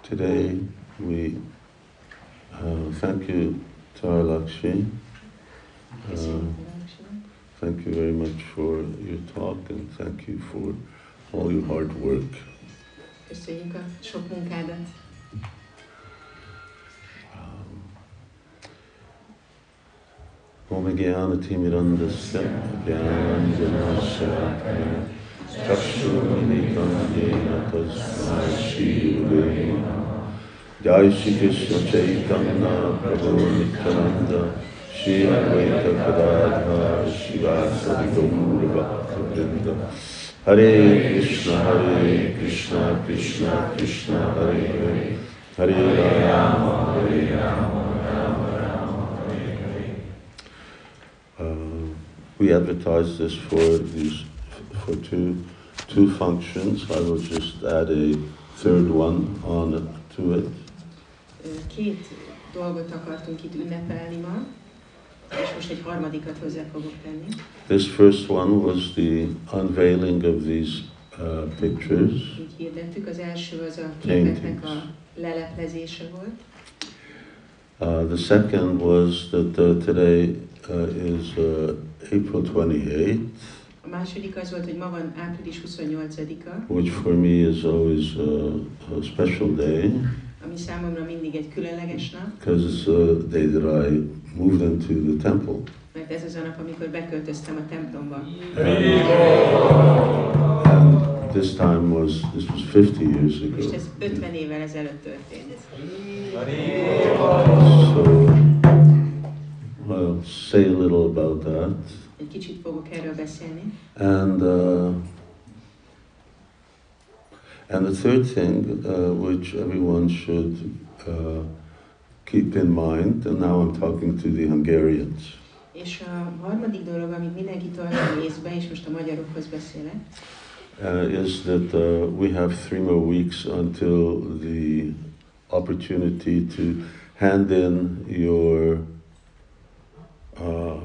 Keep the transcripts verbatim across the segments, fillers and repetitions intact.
Today we uh, thank you, Tara Lakshmi. Uh, thank you very much for your talk and thank you for all your hard work. Köszönjük a sok munkádat. Om Jnana-timirandasya Jnananjana-shalakaya Chakshurmilitam Yena Tasmai Shri Gurave Namaha. Jai Shri Krishna Chaitanya Prabhu Nityananda Shri Advaita Gadadhar Shivasadi Gaura Bhakta-vrinda. Hare Krishna Hare Krishna Krishna Krishna Hare Hare Hare Rama Hare Rama. Uh, we advertise this for these for two two functions. I will just add a third one on it, to it. Két dolgot akartunk itt ünnepelni ma, és most egy harmadikat hozzá fogok tenni. This first one was the unveiling of these uh, pictures. Így hirdettük, az első az a képeknek a leleplezése volt. Uh, the second was that uh, today uh, is uh, April twenty-eighth. A második az volt, hogy ma van április huszonnyolcadika. Which for me is always uh, a special day. Ami számomra mindig egy különleges nap. Because it's the day that I moved into the temple. Mert ez az a nap, amikor beköltöztem a templomba. And this time was, this was fifty years ago. És ez ötven évvel ezelőtt történt. So, I'll say a little about that. Egy kicsit fogok erről beszélni. And uh, and the third thing, uh, which everyone should uh, keep in mind, and now I'm talking to the Hungarians. És a harmadik dolog, amit mindenki tartson észbe, és most a magyarokhoz beszélek, uh, is that uh, we have three more weeks until the opportunity to hand in your uh,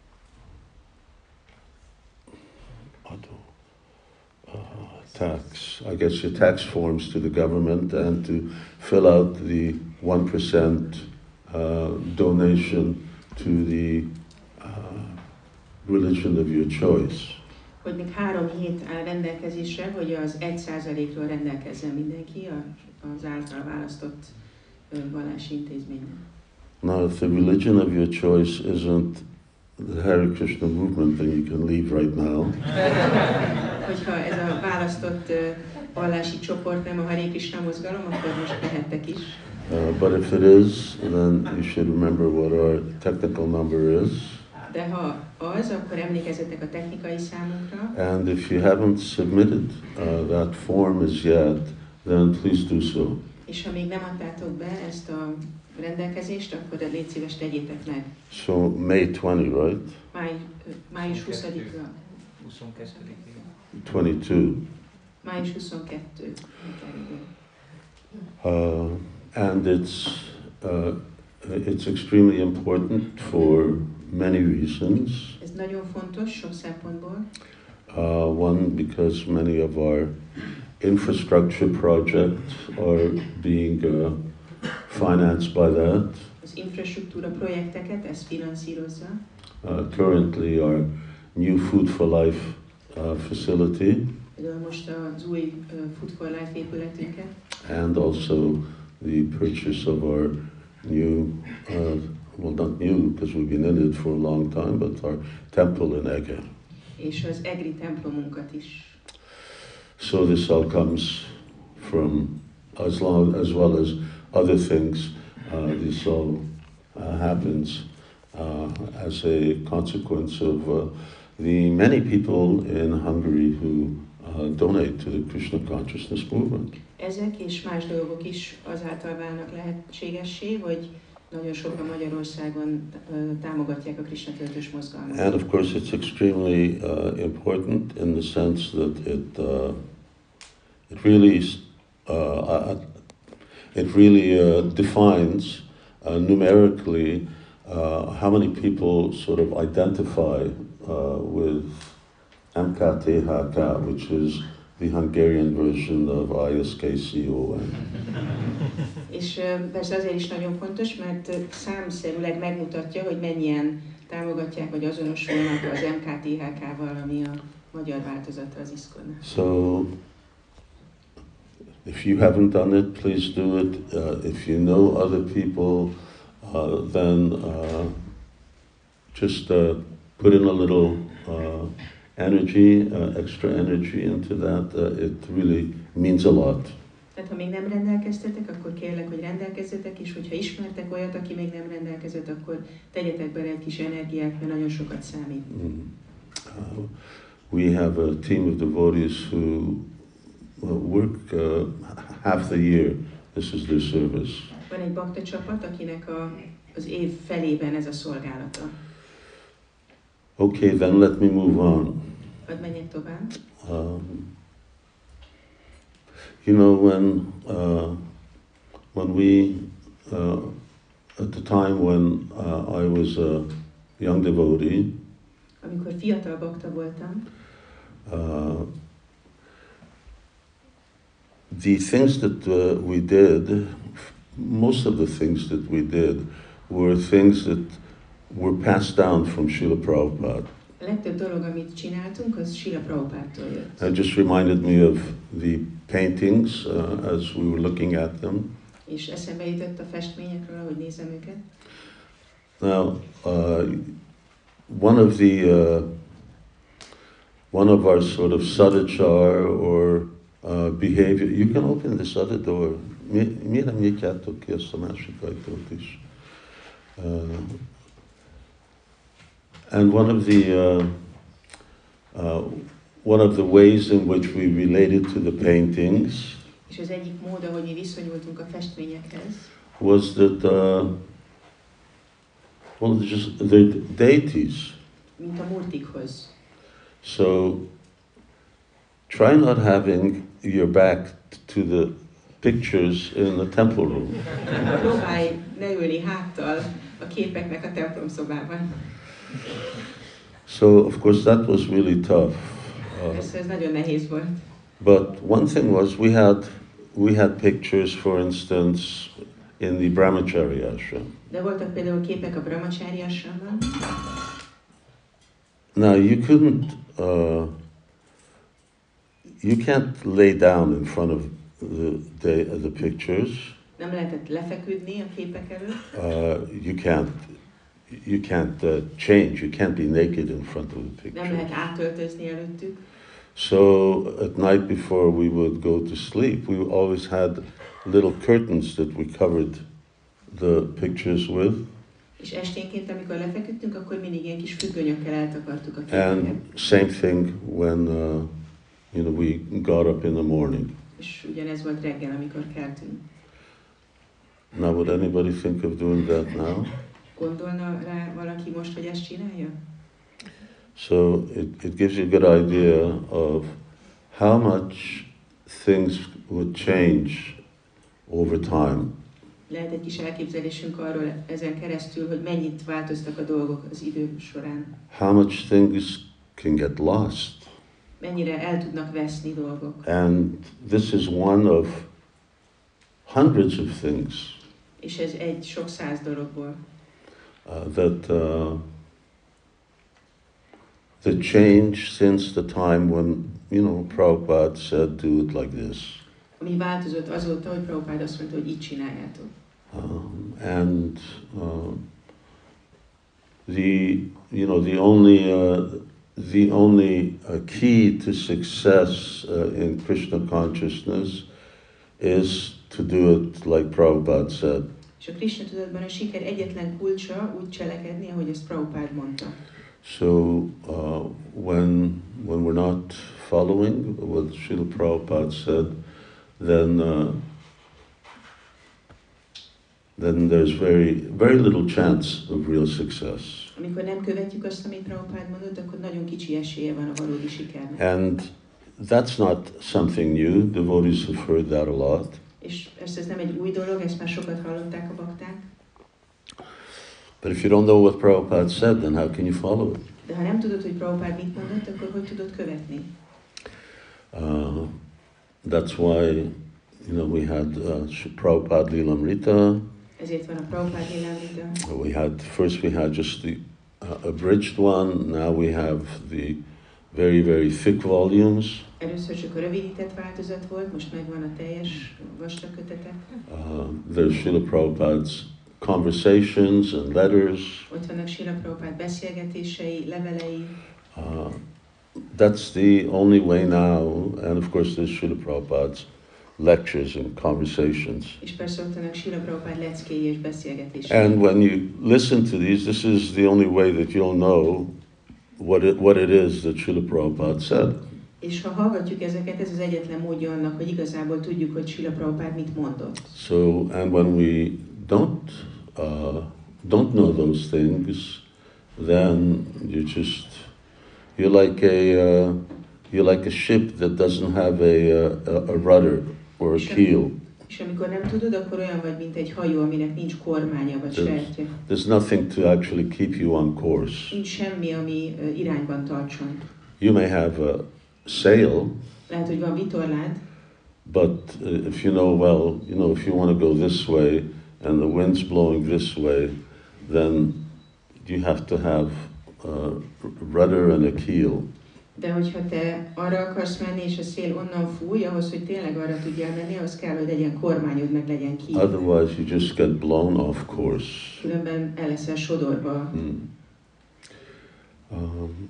uh, tax, I guess your tax forms to the government and to fill out the one percent uh, donation to the uh, religion of your choice. Hogy még három hét áll rendelkezésre, hogy az egy százalékról rendelkezzen mindenki az által választott vallási intézménynek. Now, if the religion of your choice isn't the Hare Krishna movement, then you can leave right now. Hogyha ez a választott vallási csoport nem a Hare Krishna mozgalom, akkor most mehettek is. Uh, but if it is, then you should remember what our technical number is. De ha az, akkor emlékezzetek a technikai számunkra. And if you haven't submitted uh, that form as yet, then please do so. És ha még nem adtátok be ezt a rendelkezést, akkor légy szíves, tegyétek meg. So May twentieth, right? Máj, május huszadika. twenty-two. Május huszonkettő. Uh, and it's uh, it's extremely important for many reasons. Ez nagyon fontos sok szempontból. Uh, one, because many of our infrastructure projects are being uh, financed by that. Az infrastruktúra projekteket ez finanszírozza. Uh, currently, our new Food for Life uh, facility. Például most az új uh, Food for Life épületünket. And also the purchase of our new, uh, well, not new because we've been in it for a long time, but our temple in Eger. És az egri templomunkat is. So this all comes from, as long as well as other things, uh, this all uh, happens uh, as a consequence of uh, the many people in Hungary who uh, donate to the Krishna consciousness movement. Ezek és más dolgok is azáltal válnak lehetségessé, hogy nagyon sokan Magyarországon uh, támogatják a Krishna töltős mozgalmat. And of course it's extremely uh, important in the sense that it uh, it really uh, it really uh, defines uh, numerically uh, how many people sort of identify uh, with M K T H K, which is the Hungarian version of I S K C O N. És persze azért is nagyon fontos, mert számszerűleg megmutatja, hogy mennyien támogatják vagy azonosulnak az M K T H K-val, ami a magyar változata az iszkonnak. So, if you haven't done it, please do it. Uh, if you know other people, uh, then uh, just uh, put in a little uh, energy, uh, extra energy into that. Uh, it really means a lot. Tehát ha még nem rendelkeztetek, akkor kérlek, hogy rendelkezzetek, és hogyha ismertek olyat, aki még nem rendelkezett, akkor tegyetek bele egy kis energiát, mert nagyon sokat számít. Mm. Uh, we have a team of devotees who work uh, half the year. This is their service. Van egy bakta csapat, akinek a, az év felében ez a szolgálata. Okay, then let me move on. Hadd menjek tovább. Um, you know, when uh, when we uh, at the time when uh, I was a young devotee, amikor fiatal bakta voltam, uh, the things that uh, we did, most of the things that we did, were things that were passed down from Srila Prabhupada. A legtöbb dolog, amit csináltunk, az Srila Prabhupádtól jött. It just reminded me of the paintings uh, as we were looking at them. És eszembe jutott a festményekről, ahogy nézem őket. Now, uh, one of the uh, one of our sort of sadachar or uh, behavior. You can open this other door. Miért nem nyitjátok ki ezt a másik ajtót is? Uh, and one of the uh, uh, one of the ways in which we related to the paintings. És az egyik mód, ahogy mi viszonyultunk a festményekhez, was that uh, well, just the deities. mint a murtikhoz. So try not having your back to the pictures in the temple room. Próbálj ne ülni háttal a képeknek a templomszobában. So of course that was really tough. Uh, Persze ez nagyon nehéz volt. but one thing was we had we had pictures, for instance, in the Brahmachari ashram. De voltak például képek a Brahmachari ashramban. Now you couldn't, uh, you can't lay down in front of the the, the pictures. Nem lehetett lefeküdni a képek előtt. Uh, you can't, you can't uh, change. You can't be naked in front of the Nem lehet pictures. átöltözni előttük. So at night before we would go to sleep, we always had little curtains that we covered the pictures with. És esténként, amikor lefeküdtünk, akkor mindig ilyen kis függönyökkel eltakartuk a képeket. And same thing when uh, you know we got up in the morning. És ugyanez volt reggel, amikor keltünk. Now would anybody think of doing that now? Gondolna rá valaki most, hogy ezt csinálja? So it, it gives you a good idea of how much things would change over time. Lehet egy kis elképzelésünk arról ezen keresztül, hogy mennyit változtak a dolgok az idő során. How much things can get lost. Mennyire el tudnak veszni dolgok. And this is one of hundreds of things És ez egy sok száz dologból. uh, that uh, that changed since the time when, you know, Prabhupada said, do it like this. Ami változott azóta, hogy Prabhupád azt mondta, hogy így csináljátok. Um, and uh, the, you know, the only uh, the only uh, key to success uh, in Krishna consciousness is to do it like Prabhupada said. És a Krishna tudatban a siker egyetlen kulcsa úgy cselekedni, ahogy ezt Prabhupád mondta. So uh, when when we're not following what Srila Prabhupada said, then uh, then there's very very little chance of real success. Amikor nem követjük azt, amit Prabhupád mondott, akkor nagyon kicsi esélye van a valódi sikernek. And that's not something new. Devotees have heard that a lot. És persze ez nem egy új dolog, ezt már sokat hallották a bakták. But if you don't know what Prabhupada said, then how can you follow it? De ha nem tudod, hogy Prabhupád mit mondott, akkor hogy tudod követni? Uh, that's why, you know, we had uh, Prabhupada Lilamrita. Ezért van a Prabhupád Lilamrita. We had, first we had just the uh, abridged one, now we have the very, very thick volumes. Először csak a rövidített változat volt, most megvan a teljes vastag kötete. Uh, there's Srila Prabhupada's conversations and letters. Ott vannak Srila Prabhupád beszélgetései, levelei. Uh, that's the only way now, and of course there's Srila Prabhupada's lectures and conversations. És persze ott vannak Srila Prabhupád leckéi és beszélgetései. And when you listen to these, this is the only way that you'll know what it, what it is that Srila Prabhupada said. És ha hallgatjuk ezeket, ez az egyetlen módja annak, hogy igazából tudjuk, hogy Srila Prabhupád mit mondott. So, and when we don't uh, don't know those things, then you just you're like a uh, you're like a ship that doesn't have a a, a rudder or a keel. És amikor nem tudod, akkor olyan vagy, mint egy hajó, aminek nincs kormánya vagy There's, sertje. there's nothing to actually keep you on course. Nincs semmi, ami uh, irányban tartson. You may have a sail, Lehet, hogy van vitorlád, but uh, if you know well, you know, if you want to go this way and the wind's blowing this way, then you have to have a rudder and a keel. de hogyha te arra akarsz menni, és a szél onnan fúj, ahhoz, hogy tényleg arra tudjál menni, ahhoz kell, hogy legyen kormányod, meg legyen ki. Otherwise, you just get blown off course. Különben el leszel sodorva. Mm. Um,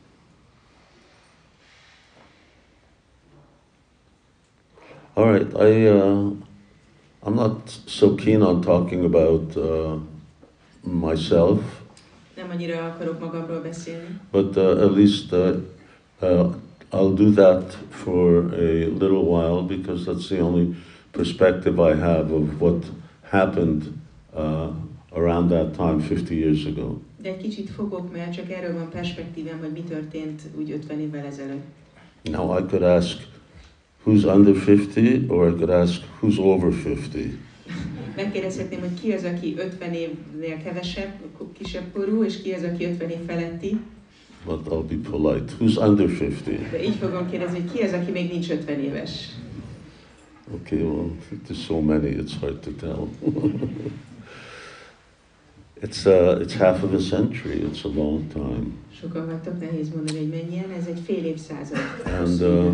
all right, I uh, I'm not so keen on talking about uh, myself, Nem annyira akarok magamról beszélni, but uh, at least uh, uh, I'll do that for a little while because that's the only perspective I have of what happened uh, around that time fifty years ago. de egy kicsit fogok, mert csak erről van perspektívem, hogy mi történt úgy ötven évvel ezelőtt. Now I could ask who's under fifty, or I could ask who's over fifty. Megkérdezhetném, hogy ki az, aki ötven évnél kevesebb, kisebb korú, és ki az, aki ötven év feletti. But I'll be polite. Who's under fifty? De így fogom kérdezni, hogy ki az, aki még nincs ötven éves. Okay, well, there's so many, it's hard to tell. it's uh, it's half of a century. It's a long time. Sokan vagytok, nehéz mondani, hogy mennyien, ez egy fél évszázad. And uh,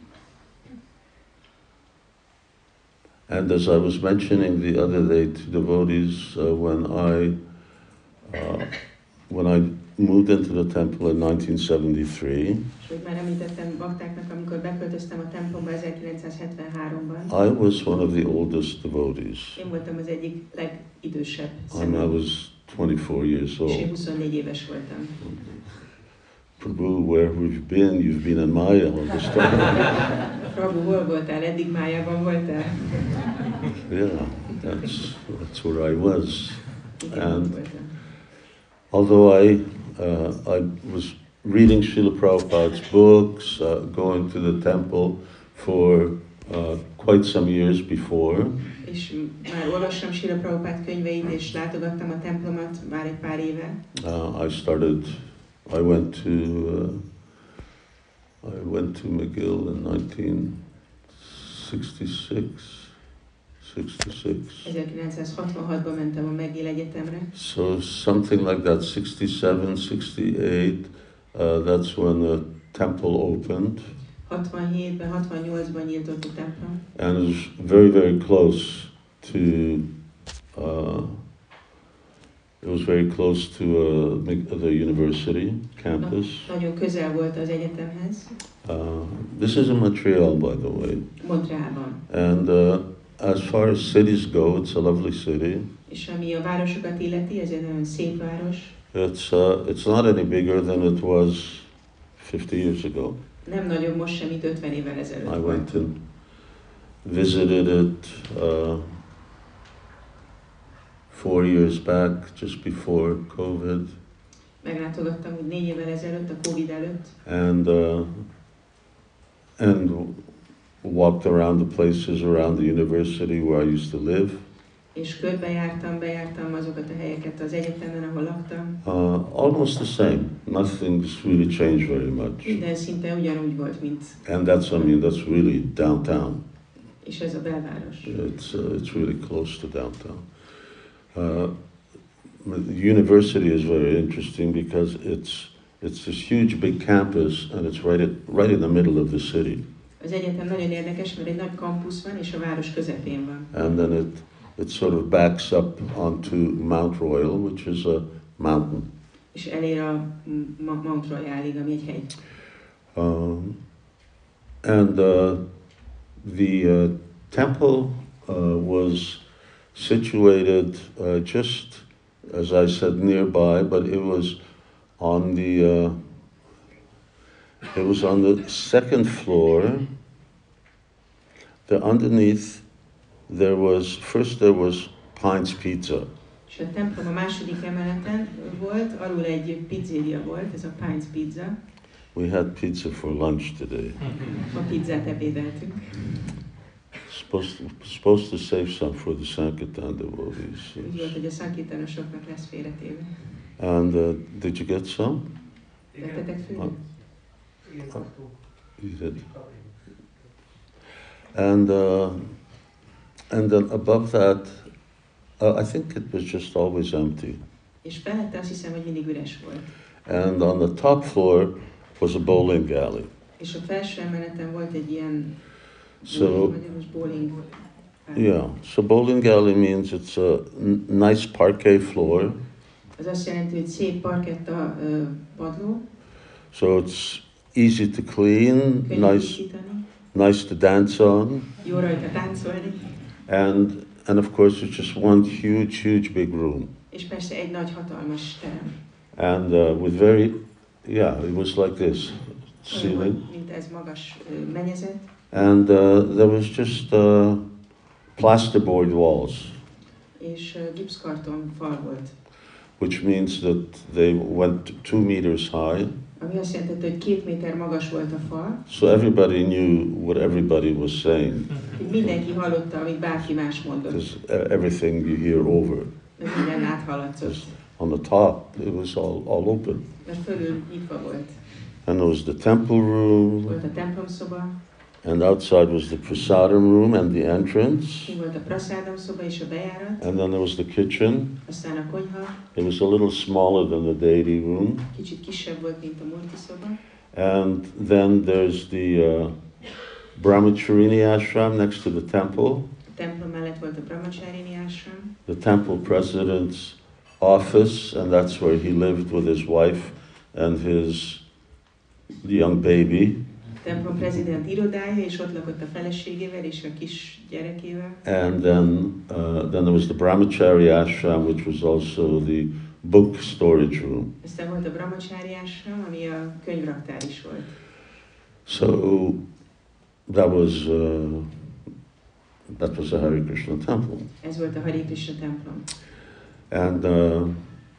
and as I was mentioning the other day to devotees, uh, when I uh, when I moved into the temple in nineteen seventy-three, És hogy már említettem baktáknak, amikor beköltöztem a templomba ezerkilencszázhetvenháromban, I was one of the oldest devotees. én voltam az egyik legidősebb I személy, was twenty-four years és én old. huszonnégy éves voltam. Prabhu, where have you been? You've been in Maya all this time. Prabhu, hol voltál? Eddig Májában voltál? Yeah, that's that's where I was. Igen, And- ott voltam. Although I uh, I was reading Srila Prabhupada's books, uh, going to the temple for uh, quite some years before, És már olvastam Srila Prabhupád könyveit, és látogattam a templomat már egy pár éve. uh, I started. I went to uh, I went to McGill in nineteen sixty-six. sixty-six. ezerkilencszázhatvanhatban mentem a McGill Egyetemre. So something like that, sixty-seven, sixty-eight. Uh, that's when the temple opened, hatvanhétben, hatvannyolcban nyílt ott a templom. and it was very, very close to. Uh, it was very close to uh, Mc- the university campus. Nagyon közel volt az egyetemhez, Uh, this is in Montreal, by the way. Montrealban. And uh, as far as cities go, it's a lovely city. És ami a városokat illeti, ez egy nagyon szép város. It's uh, it's not any bigger than it was fifty years ago. Nem nagyon most sem, mint ötven évvel ezelőtt I volt. went and visited it uh, four years back, just before COVID, Meglátogattam úgy négy évvel ezelőtt, a Covid előtt, and uh, and walked around the places around the university where I used to live. És körbejártam, bejártam azokat a helyeket az egyetemen, ahol laktam. Uh, almost the same. Nothing's really changed very much. Minden szinte ugyanúgy volt, mint... And that's, I mean, that's really downtown. És ez a belváros. It's, uh, it's really close to downtown. Uh, the university is very interesting because it's, it's this huge big campus and it's right, at, right in the middle of the city. Az egyetem nagyon érdekes, mert egy nagy kampusz van, és a város közepén van. And then it, it sort of backs up onto Mount Royal, which is a mountain. És elér a Mount Royalig, ami egy hegy. Um, and uh, the uh, temple uh, was situated uh, just, as I said, nearby, but it was on the uh, it was on the second floor. The underneath there was first there was Pine's Pizza. És a templom a második emeleten volt, alul egy pizzéria volt, ez a Pine's Pizza. We had pizza for lunch today. A pizzát ebédeltünk. Supposed to, supposed to save some for the Sankirtan devotees. Úgy volt, hogy a szankirtánosoknak lesz félretéve. And uh, did you get some? Tettetek főt? Uh, you did. And uh, and then above that, uh, I think it was just always empty. És felette azt hiszem, hogy mindig üres volt. And on the top floor was a bowling alley. És a felső emeleten volt egy ilyen So, bowling, bowling. yeah, so bowling alley means it's a n- nice parquet floor. Az azt jelenti, hogy szép parketta uh, padló. So it's easy to clean, Könnyű nice, tisztítani, nice to dance on, jó rajta táncolni. and and of course it's just one huge, huge big room, És persze egy nagy hatalmas terem. and uh, with very, yeah, it was like this Olyan ceiling, volt, mint ez magas uh, mennyezet. and uh, there was just uh, plasterboard walls, És uh, gipszkarton fal volt. which means that they went two meters high. Ami azt jelenti, hogy két méter magas volt a fal, So everybody knew what everybody was saying, hogy mindenki hallotta, amit bárki más mondott. because everything you hear over. Mert minden áthallatszott. On the top, it was all, all open. Mert fölül nyitva volt. And there was the temple room, Volt a templomszoba, and outside was the prasadam room and the entrance. ki volt a prasádam szoba és a bejárat, And then there was the kitchen. aztán a konyha, It was a little smaller than the deity room. kicsit kisebb volt, mint a multi szoba. And then there's the uh, Brahmacharini ashram next to the temple. A templom mellett volt a Brahmacharini ashram, The temple president's office, and that's where he lived with his wife and his young baby. a templom prezident irodája, és ott lakott a feleségével és a kis gyerekével. And then, uh, then there was the Brahmachari ashram, which was also the book storage room. Aztán volt a Brahmachari ashram, ami a könyvraktár is volt. So that was uh, that was a Hare Krishna temple, Ez volt a Hare Krishna templom. and uh,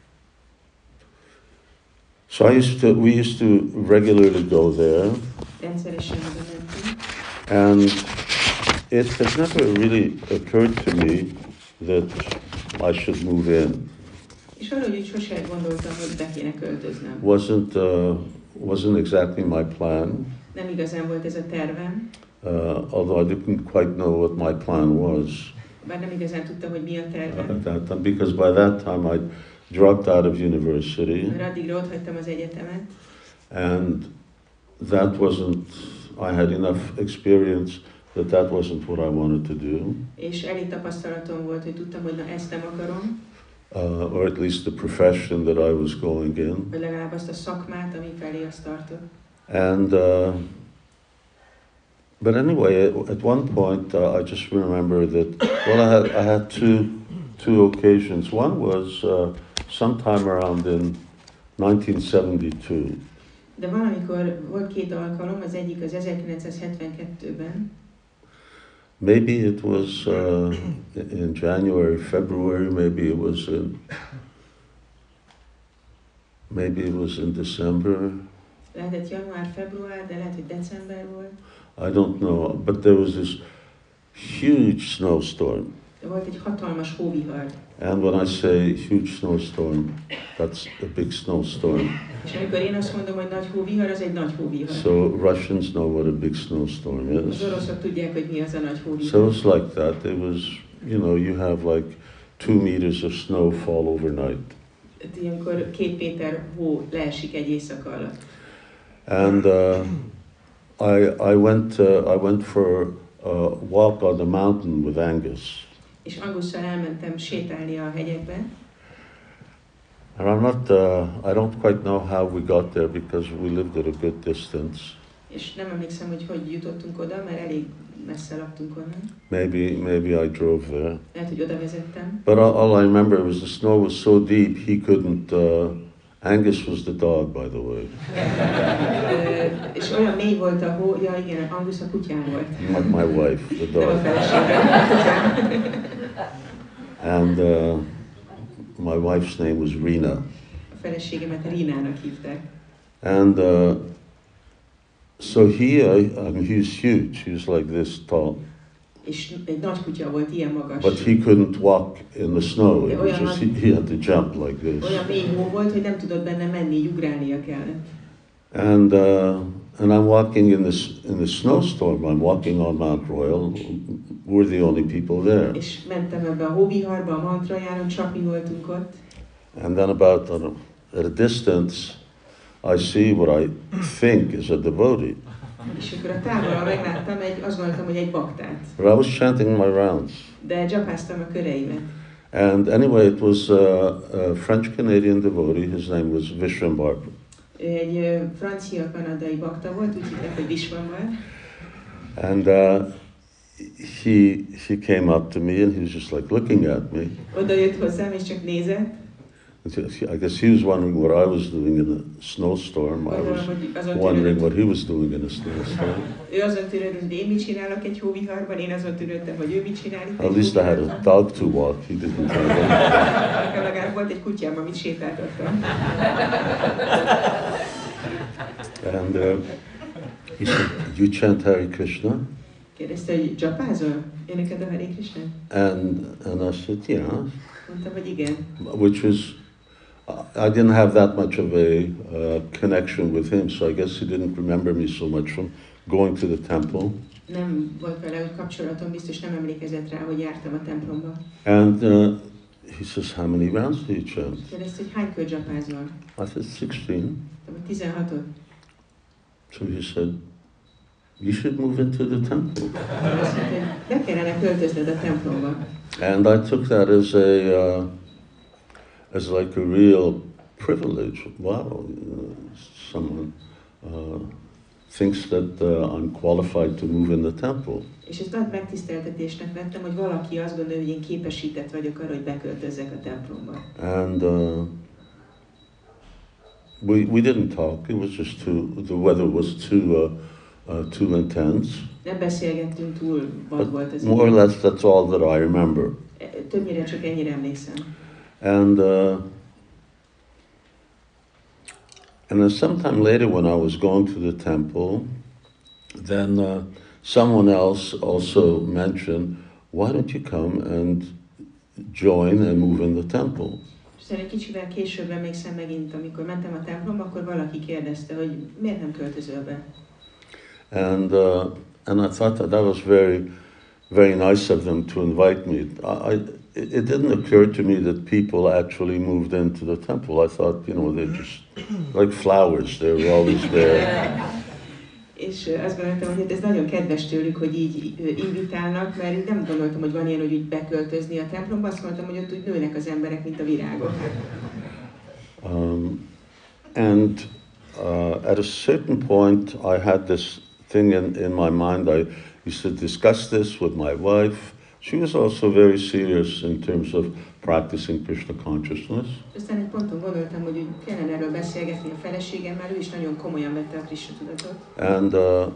so I used to we used to regularly go there, Rendszeresen oda mentünk, and it has never really occurred to me that I should move in. és valahogy úgy sose gondoltam, hogy be kéne költöznöm. wasn't uh, wasn't exactly my plan, Nem igazán volt ez a tervem, uh, although I didn't quite know what my plan was bár nem igazán tudtam, hogy mi a tervem, at that time, because by that time I dropped out of university, mert addigra ott hagytam az egyetemet, and that wasn't. I had enough experience that that wasn't what I wanted to do, és elég tapasztalatom volt, hogy tudtam, hogy na ezt nem akarom, uh, or at least the profession that I was going in, vagy legalább azt a szakmát, ami felé azt tartott. and. Uh, But anyway, at one point, uh, I just remember that. Well, I had I had two two occasions. One was uh, sometime around in nineteen seventy-two, De valamikor volt két alkalom, az egyik az ezerkilencszázhetvenkettőben, maybe it was uh, in January, February. Maybe it was in. Maybe it was in December. lehetett január, február, de lehet, hogy december volt. I don't know. But there was this huge snowstorm. De volt egy hatalmas hóvihar. And when I say huge snowstorm, that's a big snowstorm. És amikor én azt mondom, hogy nagy hóvihar, az egy nagy hóvihar. So Russians know what a big snowstorm is. Az oroszok tudják, hogy mi az a nagy hóvihar. So it's like that. It was, you know, you have like two meters of snow fall overnight. Ilyenkor két méter hó leesik egy éjszaka alatt. And uh, I, I went, uh, I went for a walk on the mountain with Angus. És Angusszal elmentem sétálni a hegyekbe. And I'm not, uh, I don't quite know how we got there because we lived at a good distance. És nem emlékszem, hogy hogy jutottunk oda, mert elég messze laktunk onnan. Maybe, maybe I drove there. Lehet, hogy oda vezettem. But all, all I remember was the snow was so deep he couldn't. Uh, Angus was the dog, by the way. Ö, és olyan mély volt a hó, ja igen, Angus a kutyám volt. Not my wife, the Nem a dog. feleségem, a kutyám. And uh, my wife's name was Rena. A feleségemet Rínának hívták. And uh, so he, I, I mean, he's huge. He was like this tall. És egy nagy kutya volt, ilyen magas. But he couldn't walk in the snow. It was just, he, he had to jump like this. Olyan mély hó volt, hogy nem tudott benne menni, ugrálnia kellett. And uh, and I'm walking in this in the snowstorm. I'm walking on Mount Royal. We're the only people there. És mentem ebbe a hóviharba, a Mount Royalon, csak mi voltunk ott. And then about uh, at a distance, I see what I think is a devotee. És akkor a távolra megláttam, egy, azt gondoltam, hogy egy baktát. But I was chanting my rounds. De dzsapáztam a köreimet. And anyway, it was uh, a French-Canadian devotee. His name was Vishwambar. Ő egy ö, francia-kanadai bakta volt, úgy hívták, hogy Vishwambar. And uh, he he came up to me and he was just like looking at me. Oda jött hozzám, és csak nézett. I guess he was wondering what I was doing in a snowstorm. I Gondolom, was hogy azon wondering what tűnődött, he was doing in a snowstorm. ő azon tűnődött, hogy én mit csinálok egy hóviharban, én azon tűnődtem, hogy ő mit csinál itt At egy least I had a hóviharban. dog to walk. He didn't have one. Nekem legalább volt egy kutyám, amit sétáltattam. And uh, he said, "You chant Hare Krishna?" Kérdezte, hogy dzsapázol? Éneked a Hare Krishna? And and I said, "Yeah," Mondtam, hogy igen. which was. I didn't have that much of a uh, connection with him, so I guess he didn't remember me so much from going to the temple. Nem volt vele, hogy kapcsolatom, biztos nem emlékezett rá, hogy jártam a templomba. And uh, he says, "How many rounds do you chant?" Kérdezte, hogy hány kör dzsapázol? I said, sixteen. Mondtam, tizenhatot. So he said, "You should move into the temple." Azt mondta, hogy be kellene költözned a templomba. And I took that as a uh, as like a real privilege. Wow, uh, someone uh, thinks that uh, I'm qualified to move in the temple. És ezt nagy megtiszteltetésnek vettem, hogy valaki azt gondolja, hogy én képesített vagyok arra, hogy beköltözzek a templomba. And uh, we we didn't talk. It was just too. The weather was too uh, uh, too intense. Nem beszélgettünk, túl vad volt az More or idő. less, that's all that I remember. Többnyire csak ennyire emlékszem. And uh, and then sometime later, when I was going to the temple, then uh, someone else also mentioned, "Why don't you come and join and move in the temple?" Aztán egy kicsivel később emlékszem megint, amikor mentem a templomba, akkor valaki kérdezte, hogy miért nem költözöl be. And uh, and I thought that that was very, very nice of them to invite me. I, I it it didn't occur to me that people actually moved into the temple. I thought, you know, they're just like flowers; they were always there. És ö, azt gondoltam, hogy hát ez nagyon kedves tőlük, hogy így ö, invitálnak, mert én nem gondoltam, hogy van ilyen, hogy úgy beköltözni a templomba, azt gondoltam, hogy ott úgy nőnek az emberek, mint a virágok. Um, and uh, at a certain point, I had this thing in, in my mind. I used to discuss this with my wife. She was also very serious in terms of practicing Krishna consciousness. Aztán egy ponton gondoltam, hogy úgy kellene erről beszélgetni a feleségemmel, ő is nagyon komolyan vette a Krishna tudatot. And uh,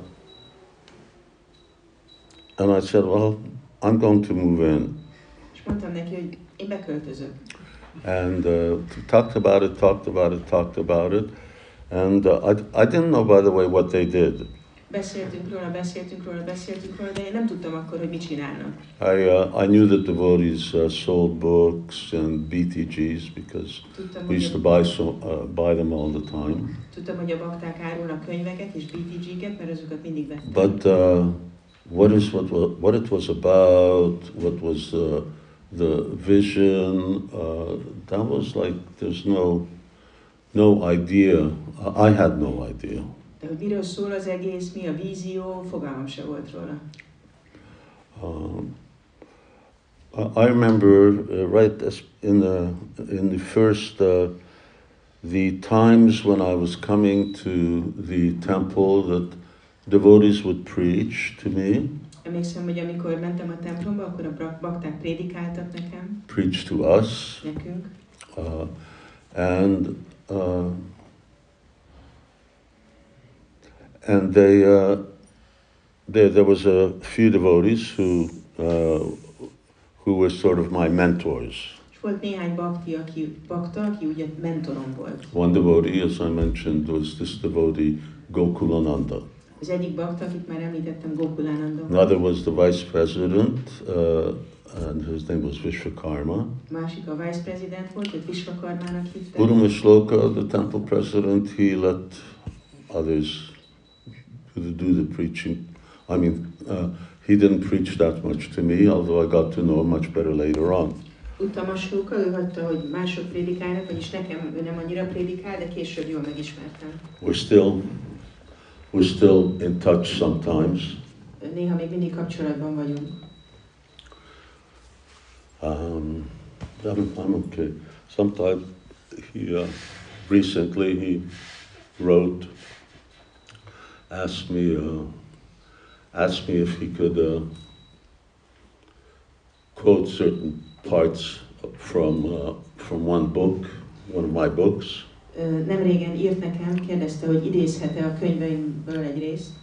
and I said, "Well, I'm going to move in." És mondtam neki, hogy én beköltözök. And uh, talked about it, talked about it, talked about it. And uh, I, I didn't know, by the way, what they did. Beszéltünk róla, beszéltünk róla, beszéltünk róla, de én nem tudtam akkor, hogy mit csinálnak. I, uh, I knew that devotees uh, sold books and B T Gs because Tudtam, we used to hogy buy, so, uh, buy them all the time. Tudtam, hogy a bakták árulnak könyveket és B T G-ket, mert azokat mindig vettem. But uh, what is what wa- what it was about? What was the the vision? Uh, that was like there's no no idea. I had no idea. De hogy miről szól az egész, mi a vízió, fogalmam se volt róla. Um, I I remember uh, right as in the in the first uh, the times when I was coming to the temple that devotees would preach to me, Emlékszem, hogy amikor mentem a templomba, akkor a brak- bakták prédikáltak nekem, preach to us, nekünk, uh, and uh, and they uh, there there was a few devotees who uh, who were sort of my mentors. és volt néhány bakti, aki, bakta, aki ugye mentorom volt. One devotee, as I mentioned, was this devotee Gokulananda. Az egyik bakta, akit már említettem, Gokulánanda. Another was the vice president, uh, and his name was Vishwakarma. Másik a vice president volt, őt Vishwakarmának hívták. Guru Mishloka, the temple president, he let others do the, do the preaching. I mean, uh, he didn't preach that much to me, although I got to know him much better later on. Utamasóka, ő hagyta, hogy mások prédikálnak, vagyis nekem ő nem annyira prédikál, de később jól megismertem. We're still, we're still in touch sometimes. Néha még mindig kapcsolatban vagyunk. Um, I'm, I'm okay. Sometimes he, uh, recently he wrote, asked me, uh, asked me if he could uh, quote certain parts from uh, from one book, one of my books. Ö, Nem régen írt nekem, kérdezte, hogy idézhet-e a könyveimből egy részt.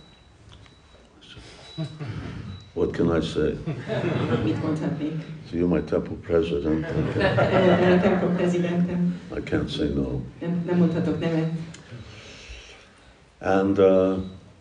What can I say? Mit mondhatnék? So you're my temple president. Okay. Te a templom prezidentem. I can't say no. Nem, nem mondhatok nemet. And uh,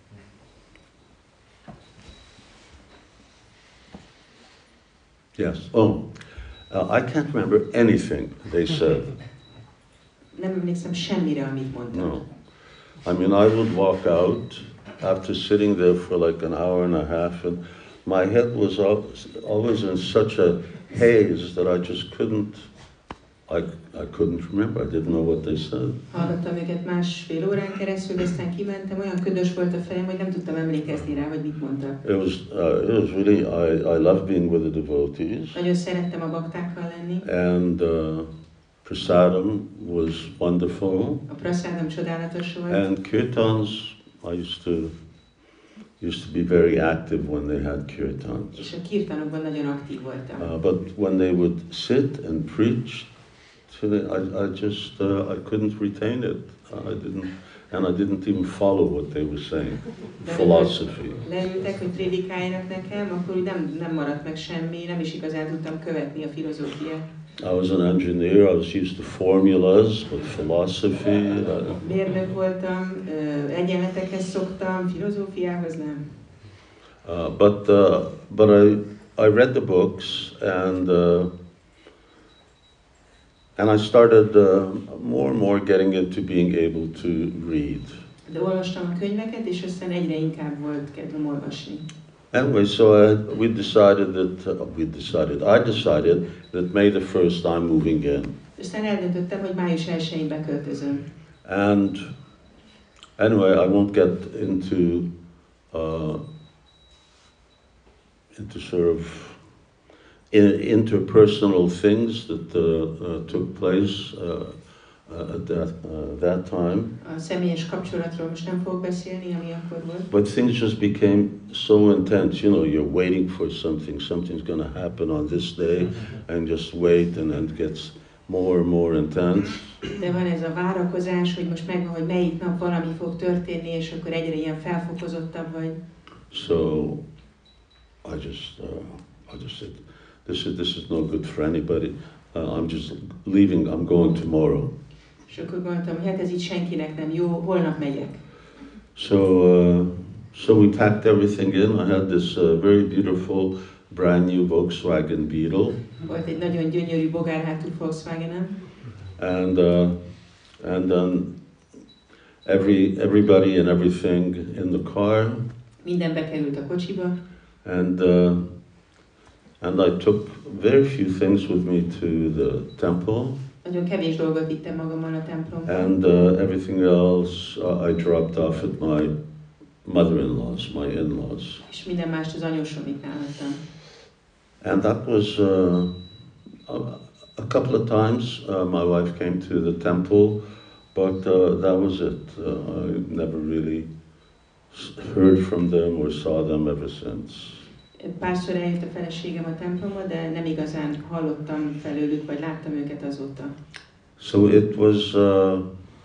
yes. Oh, uh, I can't remember anything they said. Nem emlékszem semmire, amit mondtam. No. I mean, I would walk out after sitting there for like an hour and a half, and my head was al- always in such a haze that I just couldn't, I, I couldn't remember. I didn't know what they said. Hallgattam őket másfél órán keresztül, de aztán kimentem, olyan ködös volt a fejem, hogy nem tudtam emlékezni rá, hogy mit mondtak. It was, uh, it was really, I, I loved being with the devotees, Nagyon szerettem a baktákkal lenni. and uh, prasadam was wonderful, A praszádam csodálatos volt. and kirtans, I used to, used to be very active when they had kirtans. És a kirtanokban nagyon aktív voltam. Uh, but when they would sit and preach, to the, I, I just uh, I couldn't retain it. I didn't, and I didn't even follow what they were saying. Philosophy. Leültek, hogy prédikáljanak nekem, akkor úgy nem, nem maradt meg semmi, nem is igazán tudtam követni a filozófiát. I was an engineer. I was used to formulas, but philosophy. Uh, Mérnök voltam, ö, egyenletekhez szoktam, filozófiához nem. uh, but uh, but I I read the books, and uh, and I started uh, more and more getting into being able to read. De olvastam a könyveket, és aztán egyre inkább volt kedvem olvasni. Anyway, so I, we decided that, uh, we decided, I decided that May the first I'm moving in. Aztán eldöntöttem, hogy május elsején beköltözöm. And anyway, I won't get into, uh, into sort of in, interpersonal things that uh, uh, took place uh, uh, at that, uh, that time. A személyes kapcsolatról most nem fogok beszélni, ami akkor volt. But things just became so intense. You know, you're waiting for something. Something's going to happen on this day, and just wait, and then it gets more and more intense. De van ez a várakozás, hogy most megvan, hogy melyik nap valami fog történni, és akkor egyre ilyen felfokozottabb vagy. So I just, uh, I just said, this is this is no good for anybody. Uh, I'm just leaving. I'm going tomorrow. És akkor gondoltam, hogy hát ez így senkinek nem jó, holnap megyek. So, uh, So we packed everything in. I had this uh, very beautiful brand new Volkswagen Beetle. Volt egy nagyon gyönyörű bogárhátú Volkswagenem, And uh, and then every everybody and everything in the car. minden bekerült a kocsiba, And uh, and I took very few things with me to the temple. nagyon kevés dolgot vittem magammal a templomba, And uh, everything else uh, I dropped off at my mother-in-law's, my in-laws. és minden mást az anyósomiknál hagytam. And that was uh, a, a couple of times uh, my wife came to the temple, but uh, that was it. Uh, I never really s- heard from them or saw them ever since. Párszor eljött a feleségem a templomba, de nem igazán hallottam felőlük, vagy láttam őket azóta. So it was, uh,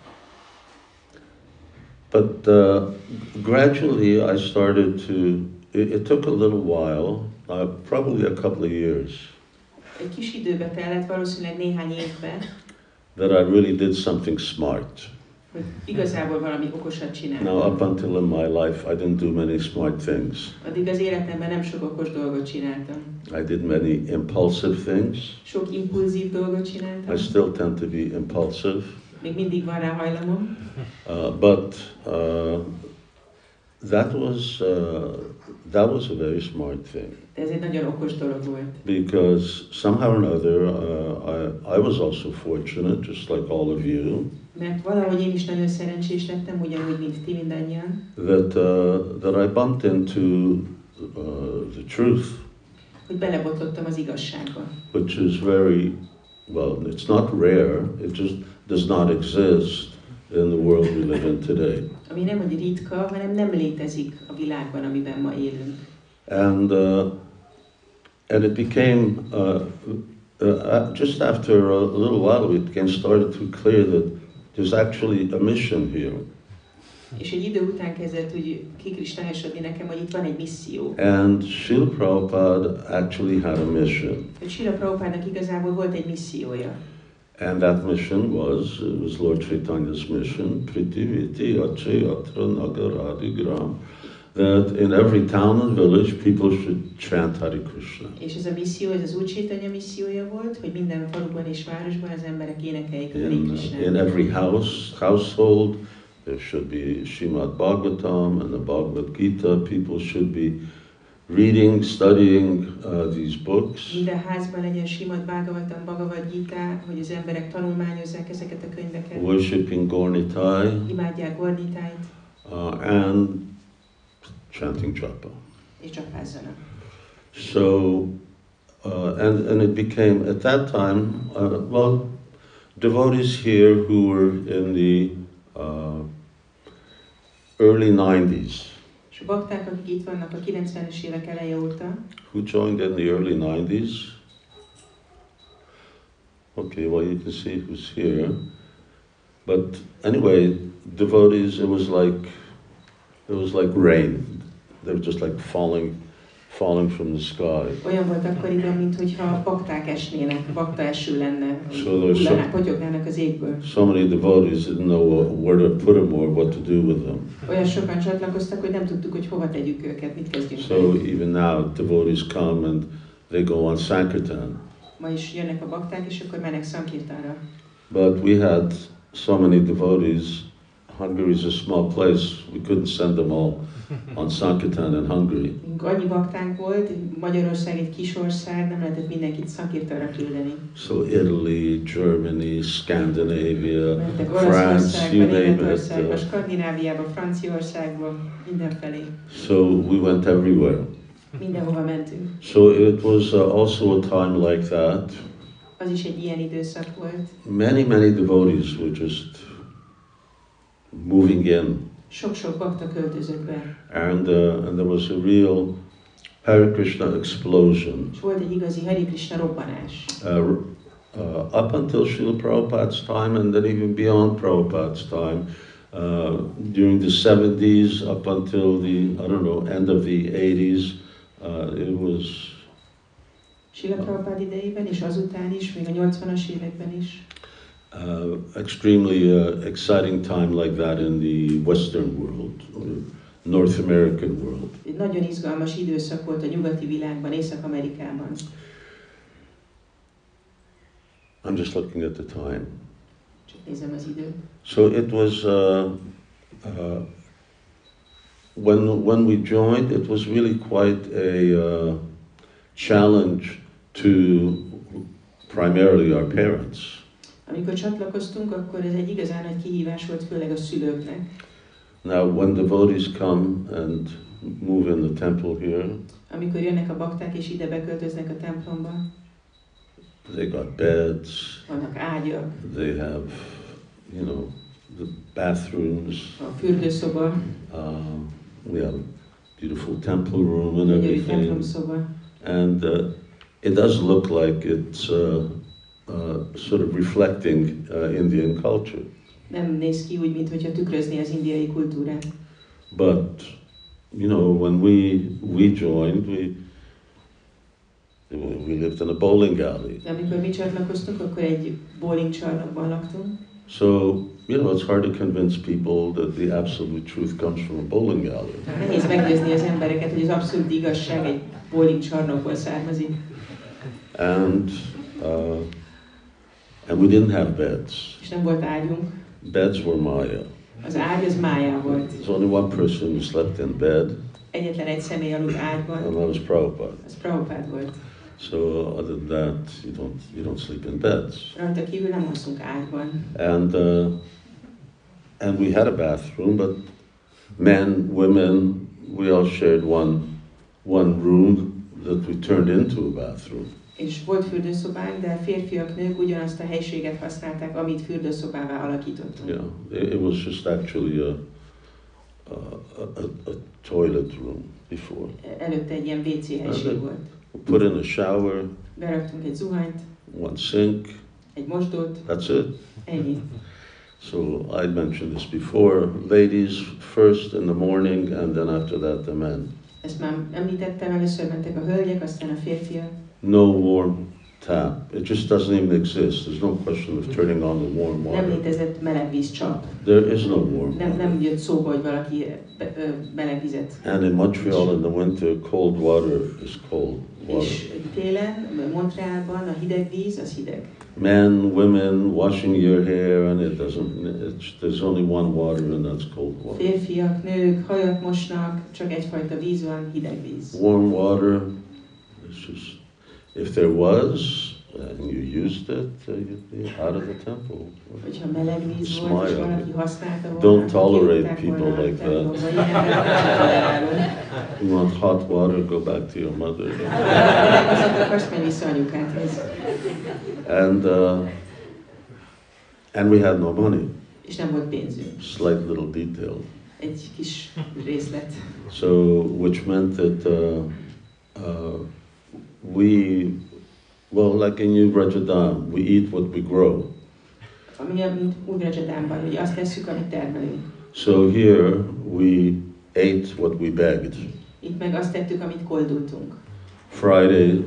but uh, gradually I started to, it, it took a little while, uh, probably a couple of years, Egy kis időbe tellett, valószínűleg néhány évbe, that I really did something smart. hogy igazából valami okosat csináltam. Now, up until in my life, I didn't do many smart things. Addig az életemben nem sok okos dolgot csináltam. I did many impulsive things. Sok impulzív dolgot csináltam. I still tend to be impulsive. Még mindig van rá hajlamom. Uh, but uh, that was uh, that was a very smart thing, De ez egy nagyon okos dolog volt. because somehow or another uh, I, I was also fortunate, just like all of you, Mert valahogy én is nagyon szerencsés lettem, ugyanúgy, mint ti mindannyian, that uh, that I bumped into uh, the truth, hogy belebotlottam az igazságba. which is very, well, it's not rare, it just does not exist in the world we live in today. Ami nem hogy ritka, hanem nem létezik a világban, amiben ma élünk. And uh, and it became uh, uh, just after a little while, it became started to clear that there's actually a mission here, És egy idő után kezdett úgy kikristályosodni nekem, hogy itt van egy misszió. and Srila Prabhupada actually had a mission, Hogy Srila Prabhupádnak igazából volt egy missziója. and that mission was it was Lord Chaitanya's mission, Prithiviti Ache Atra Nagaradi Gram, that in every town and village people should chant Hare Krishna. És ez a misszió, ez az Úr Chaitanya missziója volt, hogy minden faluban és városban az emberek énekeljék a Hare In, Krishnát. in every house, household, there should be Srimad Bhagavatam and the Bhagavad Gita. People should be reading, studying uh, these books, Minden házban legyen Srimad Bhagavatam, Bhagavad Gita, hogy az emberek tanulmányozzák ezeket a könyveket, worshipping Gaurnitai, imádják Gornitájt, uh, and chanting japa. és csapázzanak. So, uh, and, and it became, at that time, uh, well, devotees here who were in the uh, early nineties, És a bakták, akik itt vannak a kilencvenes évek eleje óta, who joined in the early nineties. Okay, well, you can see who's here. But anyway, devotees, it was like, it was like rain. They were just like falling, falling from the sky. olyan volt akkoriban, mintha bakták esnének, bakta eső lenne, So there's hullanák, some, potyognának az égből. so many devotees didn't know where to put them or what to do with them. Olyan sokan csatlakoztak, hogy nem tudtuk, hogy hova tegyük őket, mit kezdjünk So velük. even now, devotees come and they go on Sankirtan. Ma is jönnek a bakták, és akkor mennek Sankirtanra. But we had so many devotees. Hungary is a small place. We couldn't send them all on Sankirtan in Hungary. Mink annyi baktánk volt, Magyarország egy kis ország, nem lehetett mindenkit Sankirtanra küldeni. So Italy, Germany, Scandinavia, Mentek France, Olaszországba, you name it. Németországba, uh, Skandináviába, Franciaországba, mindenfelé. So we went everywhere. Mindenhova mentünk. So it was uh, also a time like that. Az is egy ilyen időszak volt. Many, many devotees were just moving in. Sok-sok bakta költözött be. And, uh, and there was a real Hare Krishna explosion. És volt egy igazi Hare Krishna robbanás. Uh, uh, up until Srila Prabhupada's time, and then even beyond Prabhupada's time, uh, during the seventies, up until the, I don't know, end of the eighties, uh, it was Srila Prabhupád idejében, és azután is, még a nyolcvanas években is. uh, extremely uh, exciting time like that in the Western world. North American world. Egy nagyon izgalmas időszak volt a nyugati világban, Észak-Amerikában. I'm just looking at the time. Csak nézem az időt. So it was, uh, uh, when, when we joined, it was really quite a uh, challenge to primarily our parents. Amikor csatlakoztunk, akkor ez egy igazán nagy kihívás volt, főleg a szülőknek. Now, when devotees come and move in the temple here, amikor jönnek a bakták és ide beköltöznek a templomba, they got beds, vannak ágyak, they have, you know, the bathrooms, a fürdőszoba, uh, we have a beautiful temple room and gyönyörű everything. templomszoba. And uh, it does look like it's uh, uh, sort of reflecting uh, Indian culture. Nem néz ki úgy, mintha tükrözné az indiai kultúrát. But, you know, when we, we joined, we, we lived in a bowling alley. De amikor mi csatlakoztunk, akkor egy bowling csarnokban laktunk. So, you know, it's hard to convince people that the absolute truth comes from a bowling alley. Nehéz meggyőzni az embereket, hogy az abszolút igazság egy bowling csarnokból származik. And, uh, and we didn't have beds. És nem volt ágyunk. Beds were Maya. Az ágy az májá volt. There's only one person who slept in bed, Egyetlen egy személy aludt ágyban, and that was Prabhupada. az Prabhupád volt. So other than that, you don't you don't sleep in beds. Rajta kívül nem alszunk ágyban. And uh, and we had a bathroom, but men, women, we all shared one one room that we turned into a bathroom. És volt fürdőszobánk, de férfiak, nők ugyanazt a helységet használták, amit fürdőszobává alakítottunk. Yeah, it, it was just actually a a, a, a toilet room before. Előtte egy ilyen vé cé helység volt. We put in a shower, Beraktunk egy zuhanyt, one sink. egy mosdót, That's it. ennyi. So I mentioned this before. Ladies first in the morning, and then after that the men. Ezt már említettem, először mentek a hölgyek, aztán a férfiak. No warm tap. It just doesn't even exist. There's no question of turning on the warm Nem water. létezett melegvíz csap. There is no warm Nem, water. nem jött szóba, hogy valaki be, ö, melegvizet. And in Montreal in the winter, cold water is cold water. És télen, Montrealban a hideg víz, az hideg. Men, women washing your hair, and it doesn't. It's, there's only one water, and that's cold water. Férfiak, nők, hajat mosnak, csak egyfajta víz van, hideg víz. Warm water. It's just if there was, and you used it, uh, you'd be out of the temple. Hogyha meleg víz Smile. volt, és valaki használta volna, Don't akkor tolerate kirúgták people volna a like that. templomba. Ilyen embereket nem tolerálunk. You want hot water? Go back to your mother. Melegvizet akarsz, menj vissza anyukádhoz. And uh, and we had no money. És nem volt pénzünk. Slight little detail. Egy kis részlet. So, which meant that uh, uh, we, well, like in New Rajadam, we eat what we grow. Ami mint Ugrajadánban, hogy azt tesszük, amit termelünk. So here we ate what we begged. Itt meg azt tettük, amit koldultunk. Friday,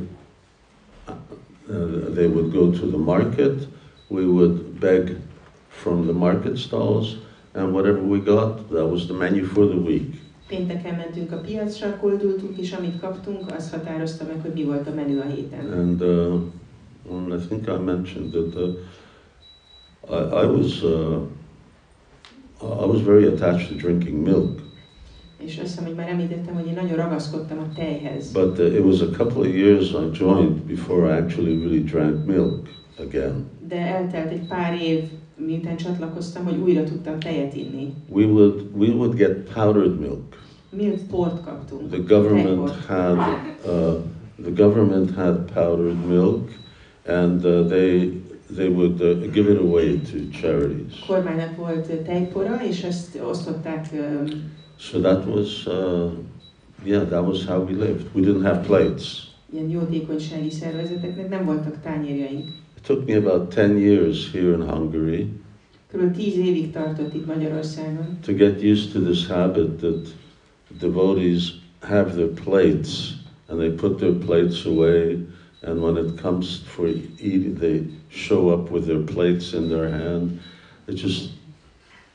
uh, they would go to the market. We would beg from the market stalls, and whatever we got, that was the menu for the week. Pénteken mentünk a piacra, koldultunk, és amit kaptunk, az határozta meg, hogy mi volt a menü a héten. And, uh, and I think I mentioned that uh, I, I was uh, I was very attached to drinking milk. És azt hiszem, hogy már említettem, hogy én nagyon ragaszkodtam a tejhez. But uh, it was a couple of years I joined before I actually really drank milk again. De eltelt egy pár év, miután csatlakoztam, hogy újra tudtam tejet inni. We would we would get powdered milk. Milk port kaptunk. The government Tejport. had uh, the government had powdered milk, and uh, they they would uh, give it away to charities. A kormánynak volt tejpora, és ezt osztották. Um, So that was uh, yeah, that was how we lived. We didn't have plates. ilyen jótékonysági szervezeteknek nem voltak tányérjaink. It took me about ten years here in Hungary Körülbelül tíz évig tartott itt Magyarországon, to get used to this habit that devotees have their plates and they put their plates away, and when it comes for eating, they show up with their plates in their hand. It just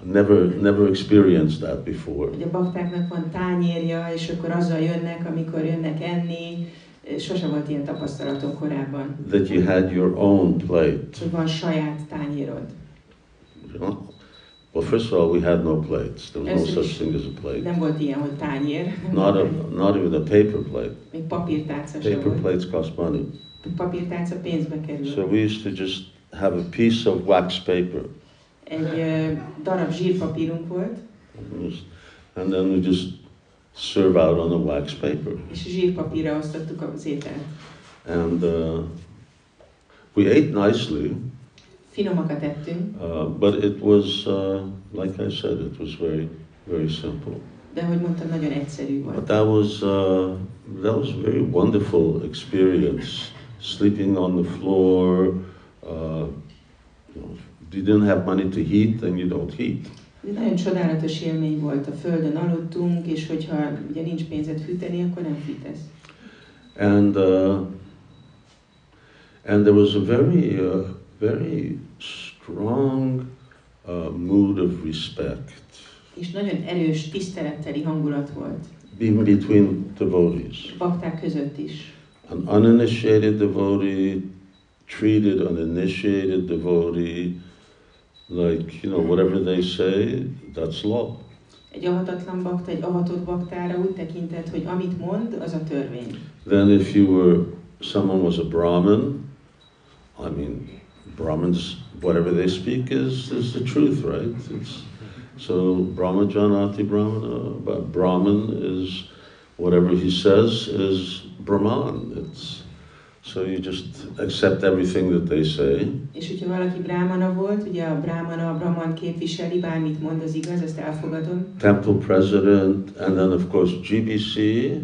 never, never experienced that before. Hogy a baktáknak van tányérja, és akkor azzal jönnek, amikor jönnek enni. Sose volt ilyen tapasztalatom korábban. That you had your own plate. Hogy van saját tányérod. You know? Well, first of all, we had no plates. There was no such thing as a plate. Nem volt ilyen, hogy tányér. Not, a, not even a paper plate. Még papírtálca sem Paper volt. plates cost money. Papírtálca pénzbe kerül. So we used to just have a piece of wax paper. Egy uh, darab zsírpapírunk volt. And then we just serve out on the wax paper. És zsírpapírra osztottuk az ételt. And uh, we ate nicely. Finomakat ettünk. Uh, but it was, uh, like I said, it was very, very simple. De ahogy mondtam, nagyon egyszerű volt. But that was, uh, that was a very wonderful experience. Sleeping on the floor. Uh, you know, if you didn't have money to heat, then you don't heat. Ez nagyon csodálatos élmény volt. A földön aludtunk, és hogyha ugye nincs pénzed fűteni, akkor nem fűtesz. And uh, and there was a very, uh, very strong uh, mood of respect. És nagyon erős tiszteletteli hangulat volt. Even between devotees. Bakták között is. An uninitiated devotee treated an initiated devotee like, you know, whatever they say, that's law. Egy avatatlan bakta, egy avatott baktára úgy tekintett, hogy amit mond, az a törvény. Then if you were, someone was a Brahmin, I mean, Brahmins, whatever they speak is, is the truth, right? It's, so Brahmajanati Brahmana, but Brahmin is, whatever he says is Brahman. It's, so you just accept everything that they say. És hogyha valaki brámana volt, ugye a brámana, a brahman képviseli, bármit mond, az igaz, ezt elfogadom. Temple president, and then of course G B C.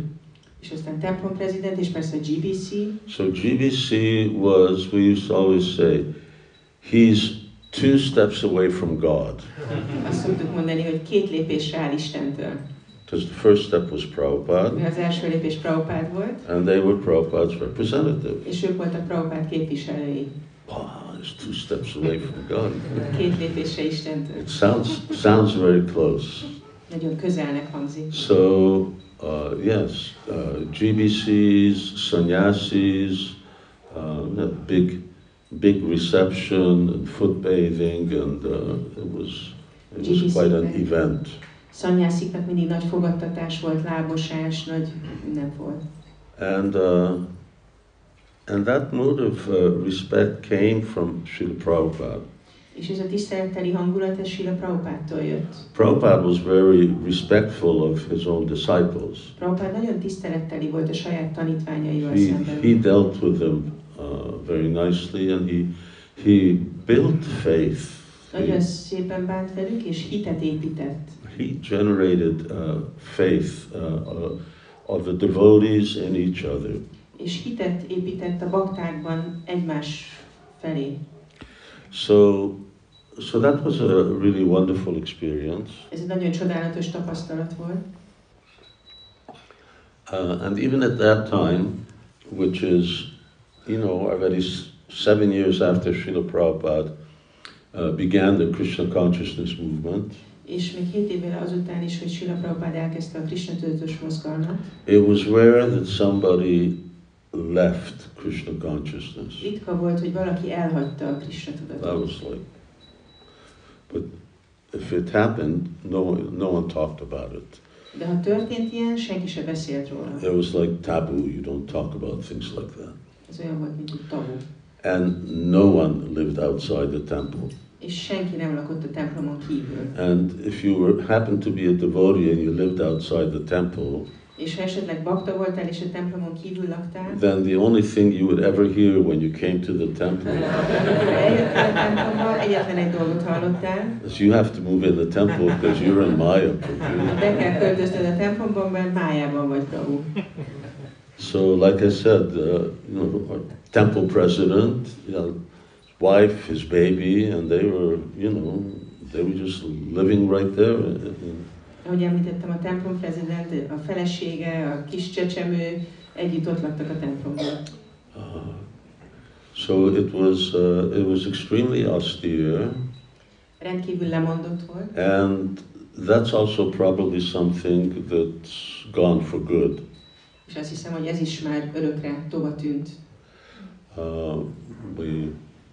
És aztán templom prezident, és persze a G B C. So G B C was, we used to always say, he's two steps away from God. Azt szoktuk mondani, hogy két lépésre áll Istentől. Because the first step was Prabhupada, Az első lépés Prabhupád volt, and they were Prabhupada's representative. és ők voltak Prabhupád képviselői. Wow, he's two steps away from God. Két lépésre Istentől. It sounds, sounds very close. Nagyon közelnek hangzik. So, uh, yes, uh, G B Cs, sannyasis, uh, big, big reception and foot bathing, and uh, it was, it was quite an event. Szanyásziknak mindig nagy fogadtatás volt, lábmosás, nagy minden volt. And uh, and that mood of uh, respect came from Srila Prabhupada. És ez a tiszteletteli hangulat, ez Srila Prabhupádtól jött. Prabhupada was very respectful of his own disciples. Prabhupád nagyon tiszteletteli volt a saját tanítványaival He, szemben. he dealt with them uh, very nicely, and he, he built faith. Nagyon He, szépen bánt velük, és hitet épített. he generated uh, faith uh, uh, of the devotees in each other. És hitet épített a baktákban egymás felé. So, so that was a really wonderful experience. Ez egy nagyon csodálatos tapasztalat volt. Uh, and even at that time, which is, you know, already seven years after Srila Prabhupada uh, began the Krishna consciousness movement, És még hét évvel azután is, hogy Srila Prabhupád elkezdte a Krishna tudatos mozgalmat, it was rare that somebody left Krishna consciousness. ritka volt, hogy valaki elhagyta a Krishna That tudatot. was like, but if it happened, no one, no one talked about it. De ha történt ilyen, senki se beszélt róla. It was like taboo. You don't talk about things like that. Ez olyan volt, mint egy tabu. And no one lived outside the temple. És senki nem lakott a templomon kívül. And if you were, happened to be a devotee and you lived outside the temple, És ha esetleg bakta voltál, és a templomon kívül laktál, then the only thing you would ever hear when you came to the temple amikor eljöttél a templomba, egyetlen egy dolgot hallottál, is you have to move in the temple because you're in Maya. be kell költöznöd a templomban, mert májában vagy, Prabhu. So, like I said, uh, you know, our temple president, you know, his wife, his baby, and they were, you know, they were just living right there. Ahogy említettem, a templom prezident, a felesége, a kis csecsemő együtt ott laktak a templomban. Uh, so it was, uh, it was extremely austere. Rendkívül lemondott volt. And that's also probably something that's gone for good. És azt hiszem, hogy ez is már örökre tova tűnt. Uh, we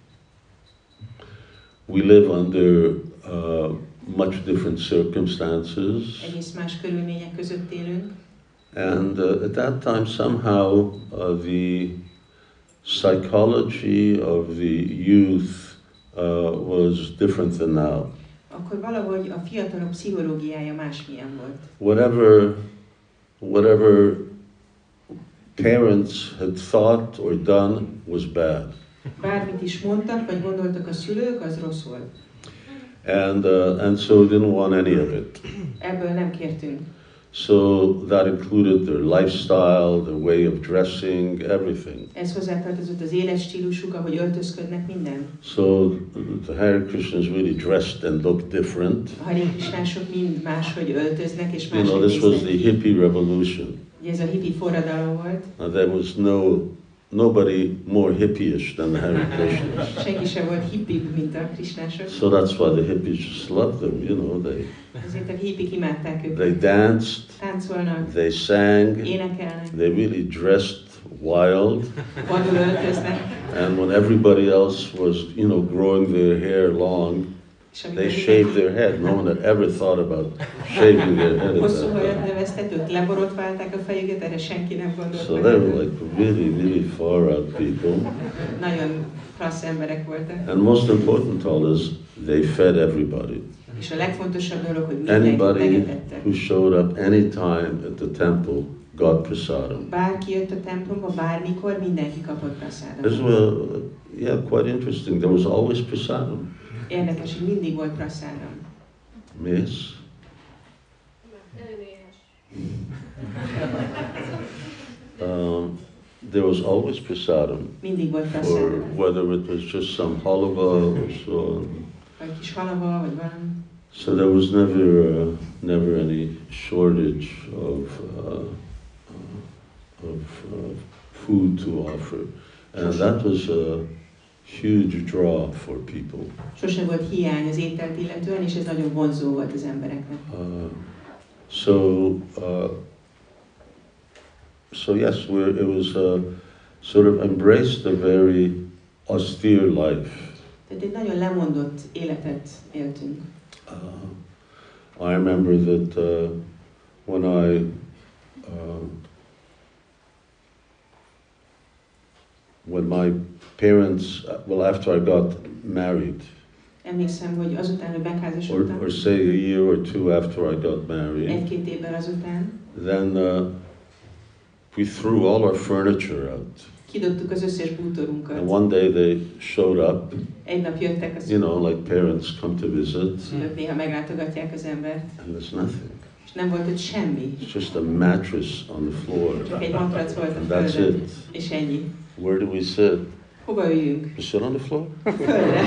we live under uh, much different circumstances, Egész más körülmények között élünk. and uh, at that time somehow uh, the psychology of the youth uh, was different than now. Akkor valahogy a fiatalok pszichológiája másmilyen volt. Whatever, whatever parents had thought or done was bad. Bármit is mondtak, vagy gondoltak a szülők, az rossz volt. And, uh, and so didn't want any of it. Ebből nem kértünk. So that included their lifestyle, their way of dressing, everything. Ez hozzátartozott az életstílusuk, ahogy öltözködnek, minden. So the Hare Krishnas really dressed and looked different. A Hare Krishnások mind máshogy öltöznek, és You know, máshogy this was the néznek. hippie revolution. Ugye ez a hippie forradalom volt. Uh, there was no nobody more hippie-ish than the Hare Krishnas. Senki sem volt hippibb, mint a krisnások. So that's why the hippies just loved them, you know. They Ezért a hippik imádták őket. they danced, Táncolnak, they sang, énekelnek, they really dressed wild. vadul öltöznek, And when everybody else was, you know, growing their hair long, és they amikor shaved their head. No one had ever thought about shaving their head at hosszú that hajat time. növesztetők, leborotválták a fejüket, erre senki nem gondolt. So meg. they were like really, really far out people. Nagyon klassz emberek voltak. And most important of all is they fed everybody. És a legfontosabb dolog, hogy mindenki Anybody megetettek. who showed up anytime at the temple got prasadam. Bárki jött a templomba, bármikor, mindenki kapott This prasadamot. was, yeah, quite interesting. There was always prasadam. Érdekes, hogy mindig volt prasadam. Miss? Um, there was always prasadam. Mindig volt Or prasadam. whether it was just some halava or so on. Vagy kis halava, vagy valami. So there was never, uh, never any shortage of, uh, of uh, food to offer. And that was a huge draw for people. Sose volt hiány az ételt illetően, és ez nagyon vonzó volt az embereknek. Uh, so, uh, so yes, we're, it was uh, sort of embraced a very austere life. Tehát egy nagyon lemondott életet éltünk. Uh, I remember that uh, when I uh, when my parents, well, after I got married, Emlékszem, hogy azután, hogy or, megházasodtam, or say a year or two after I got married, egy-két évvel azután, then uh, we threw all our furniture out. kidobtuk az összes bútorunkat. And one day they showed up, Egy nap jöttek a you know, like parents come to visit, szülők, néha meglátogatják az embert, and there's nothing. és nem volt ott semmi. It's just a mattress on the floor. Csak egy matrac volt And a that's földön, it. és ennyi. Where do we sit? Hova üljünk? We sit on the floor? Földre.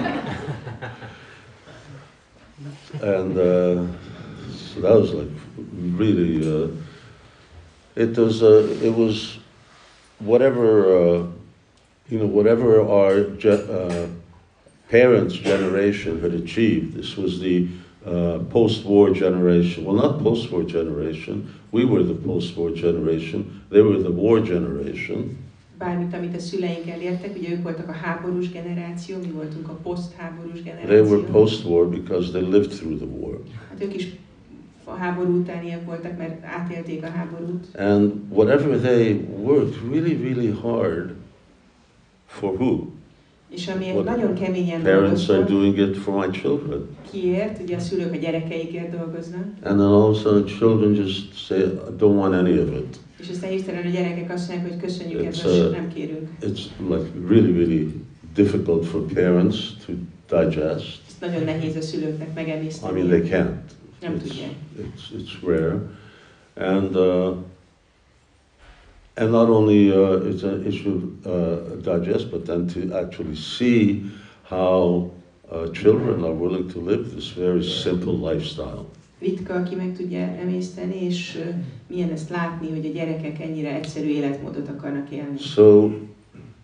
And uh, so that was like really, uh, it was, uh, it was whatever, uh, you know, whatever our ge- uh, parents' generation had achieved. This was the uh, post-war generation. Well, not post-war generation. We were the post-war generation. They were the war generation. Bármit, amit a szüleink elértek, ugye ők voltak a háborús generáció, mi voltunk a posztháborús They were generáció. post-war because they lived through the war. Hát ők is a háború utániak voltak, mert átélték a háborút. And whatever they worked really, really hard for who? És amiért What nagyon keményen Parents are dolgoztak, doing it for my children. kiért, ugye a szülők a gyerekeikért dolgoznak, And then all of a sudden children just say, I don't want any of it. és aztán hirtelen a gyerekek azt mondják, hogy köszönjük, It's, ebből uh, nem kérünk. It's like really, really difficult for parents to digest. Ezt nagyon nehéz a szülőknek I megemészteni. mean, they can't. Nem It's, tudják. it's, it's rare. And, uh, and not only uh, it's an issue uh, digest, but then to actually see how uh, children are willing to live this very simple lifestyle. Ritka, aki meg tudja emészteni, és uh, milyen ezt látni, hogy a gyerekek ennyire egyszerű életmódot akarnak élni. So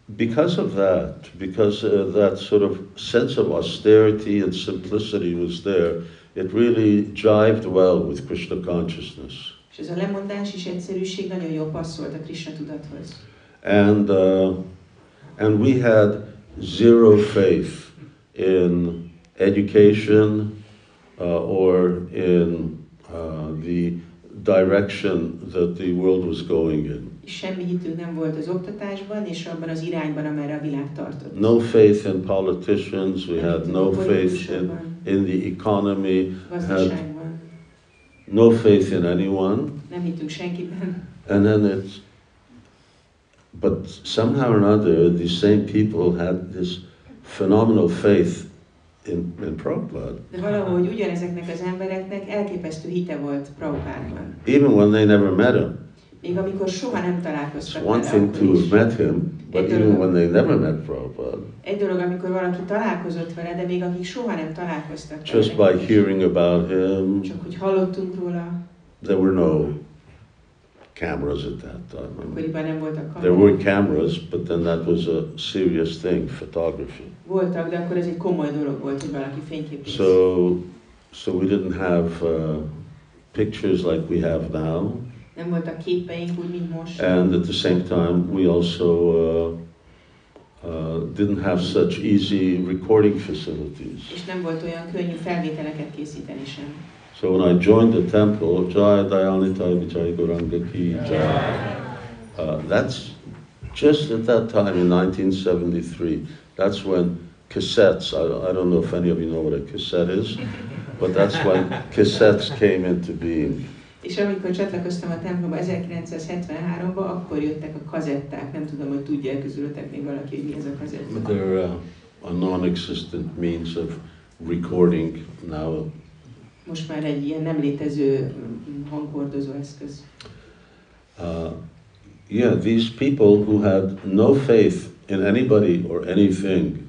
because of that, because uh, that sort of sense of austerity and simplicity was there, it really jived well with Krishna consciousness. És ez a lemondás és egyszerűség nagyon jól passzolt a Krishna tudathoz. And uh, and we had zero faith in education uh, or in uh, the direction that the world was going in. És semmi hitünk nem volt az oktatásban és abban az irányban, amerre a világ tartott. No faith in politicians, we had no faith in, in the economy, had no faith in anyone. Nem hittünk senkiben. And then it's, but somehow or another, these same people had this phenomenal faith in, in Prabhupada. De valahogy ugyanezeknek az embereknek elképesztő hite volt Prabhupádban. Even when they never met him. Még amikor soha nem találkoztak It's one vele, thing to akkor is. have met him, but even when they never met Prabhupada, Egy dolog, amikor valaki találkozott vele, de még akik soha nem találkoztak just vele, by hearing about him, csak hogy hallottunk róla, there were no cameras at that time. akkoriban nem voltak There kamerák. were cameras, but then that was a serious thing, photography. Voltak, de akkor ez egy komoly dolog volt, hogy valaki fényképész. So, so we didn't have uh, pictures like we have now. Nem voltak képeink úgy, mint most. And at the same time, we also uh, uh, didn't have such easy recording facilities. És nem volt olyan könnyű felvételeket készíteni sem. So when I joined the temple, Jai Dayanitai Vijay Gauranga Ki Jai, uh, that's just at that time in nineteen seventy-three. That's when cassettes, I, I don't know if any of you know what a cassette is, but that's when cassettes came into being. És amikor csatlakoztam a templomba ezerkilencszázhetvenháromban, akkor jöttek a kazetták. Nem tudom, hogy tudja közülöttek még valaki, hogy mi ez a kazetta. They're uh, a non-existent means of recording now. Most már egy ilyen nem létező hanghordozó eszköz. Uh, yeah, these people who had no faith in anybody or anything,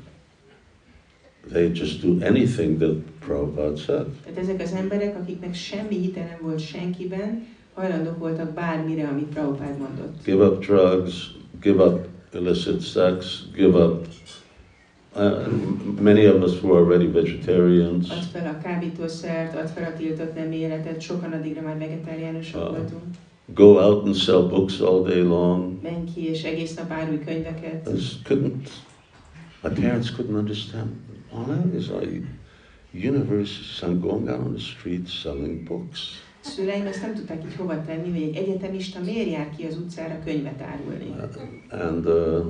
they just do anything that Prabhupada said. Tehát ezek az emberek, akiknek semmi hite nem volt senkiben, hajlandók voltak bármire, amit Prabhupád mondott. Give up drugs, give up illicit sex, give up. Uh, many of us were already vegetarians. Add fel a kábítószert, add fel a tiltott nem életet, sokan addigra már vegetáriánusok Uh, voltunk. Go out and sell books all day long. Menj ki és egész nap árulj könyveket. I just couldn't. My parents couldn't understand. Why is I university? I'm going out on the street selling books. Szüleim ezt nem tudták így hova tenni, hogy egy egyetemista miért jár ki az utcára könyvet árulni. Uh, and uh,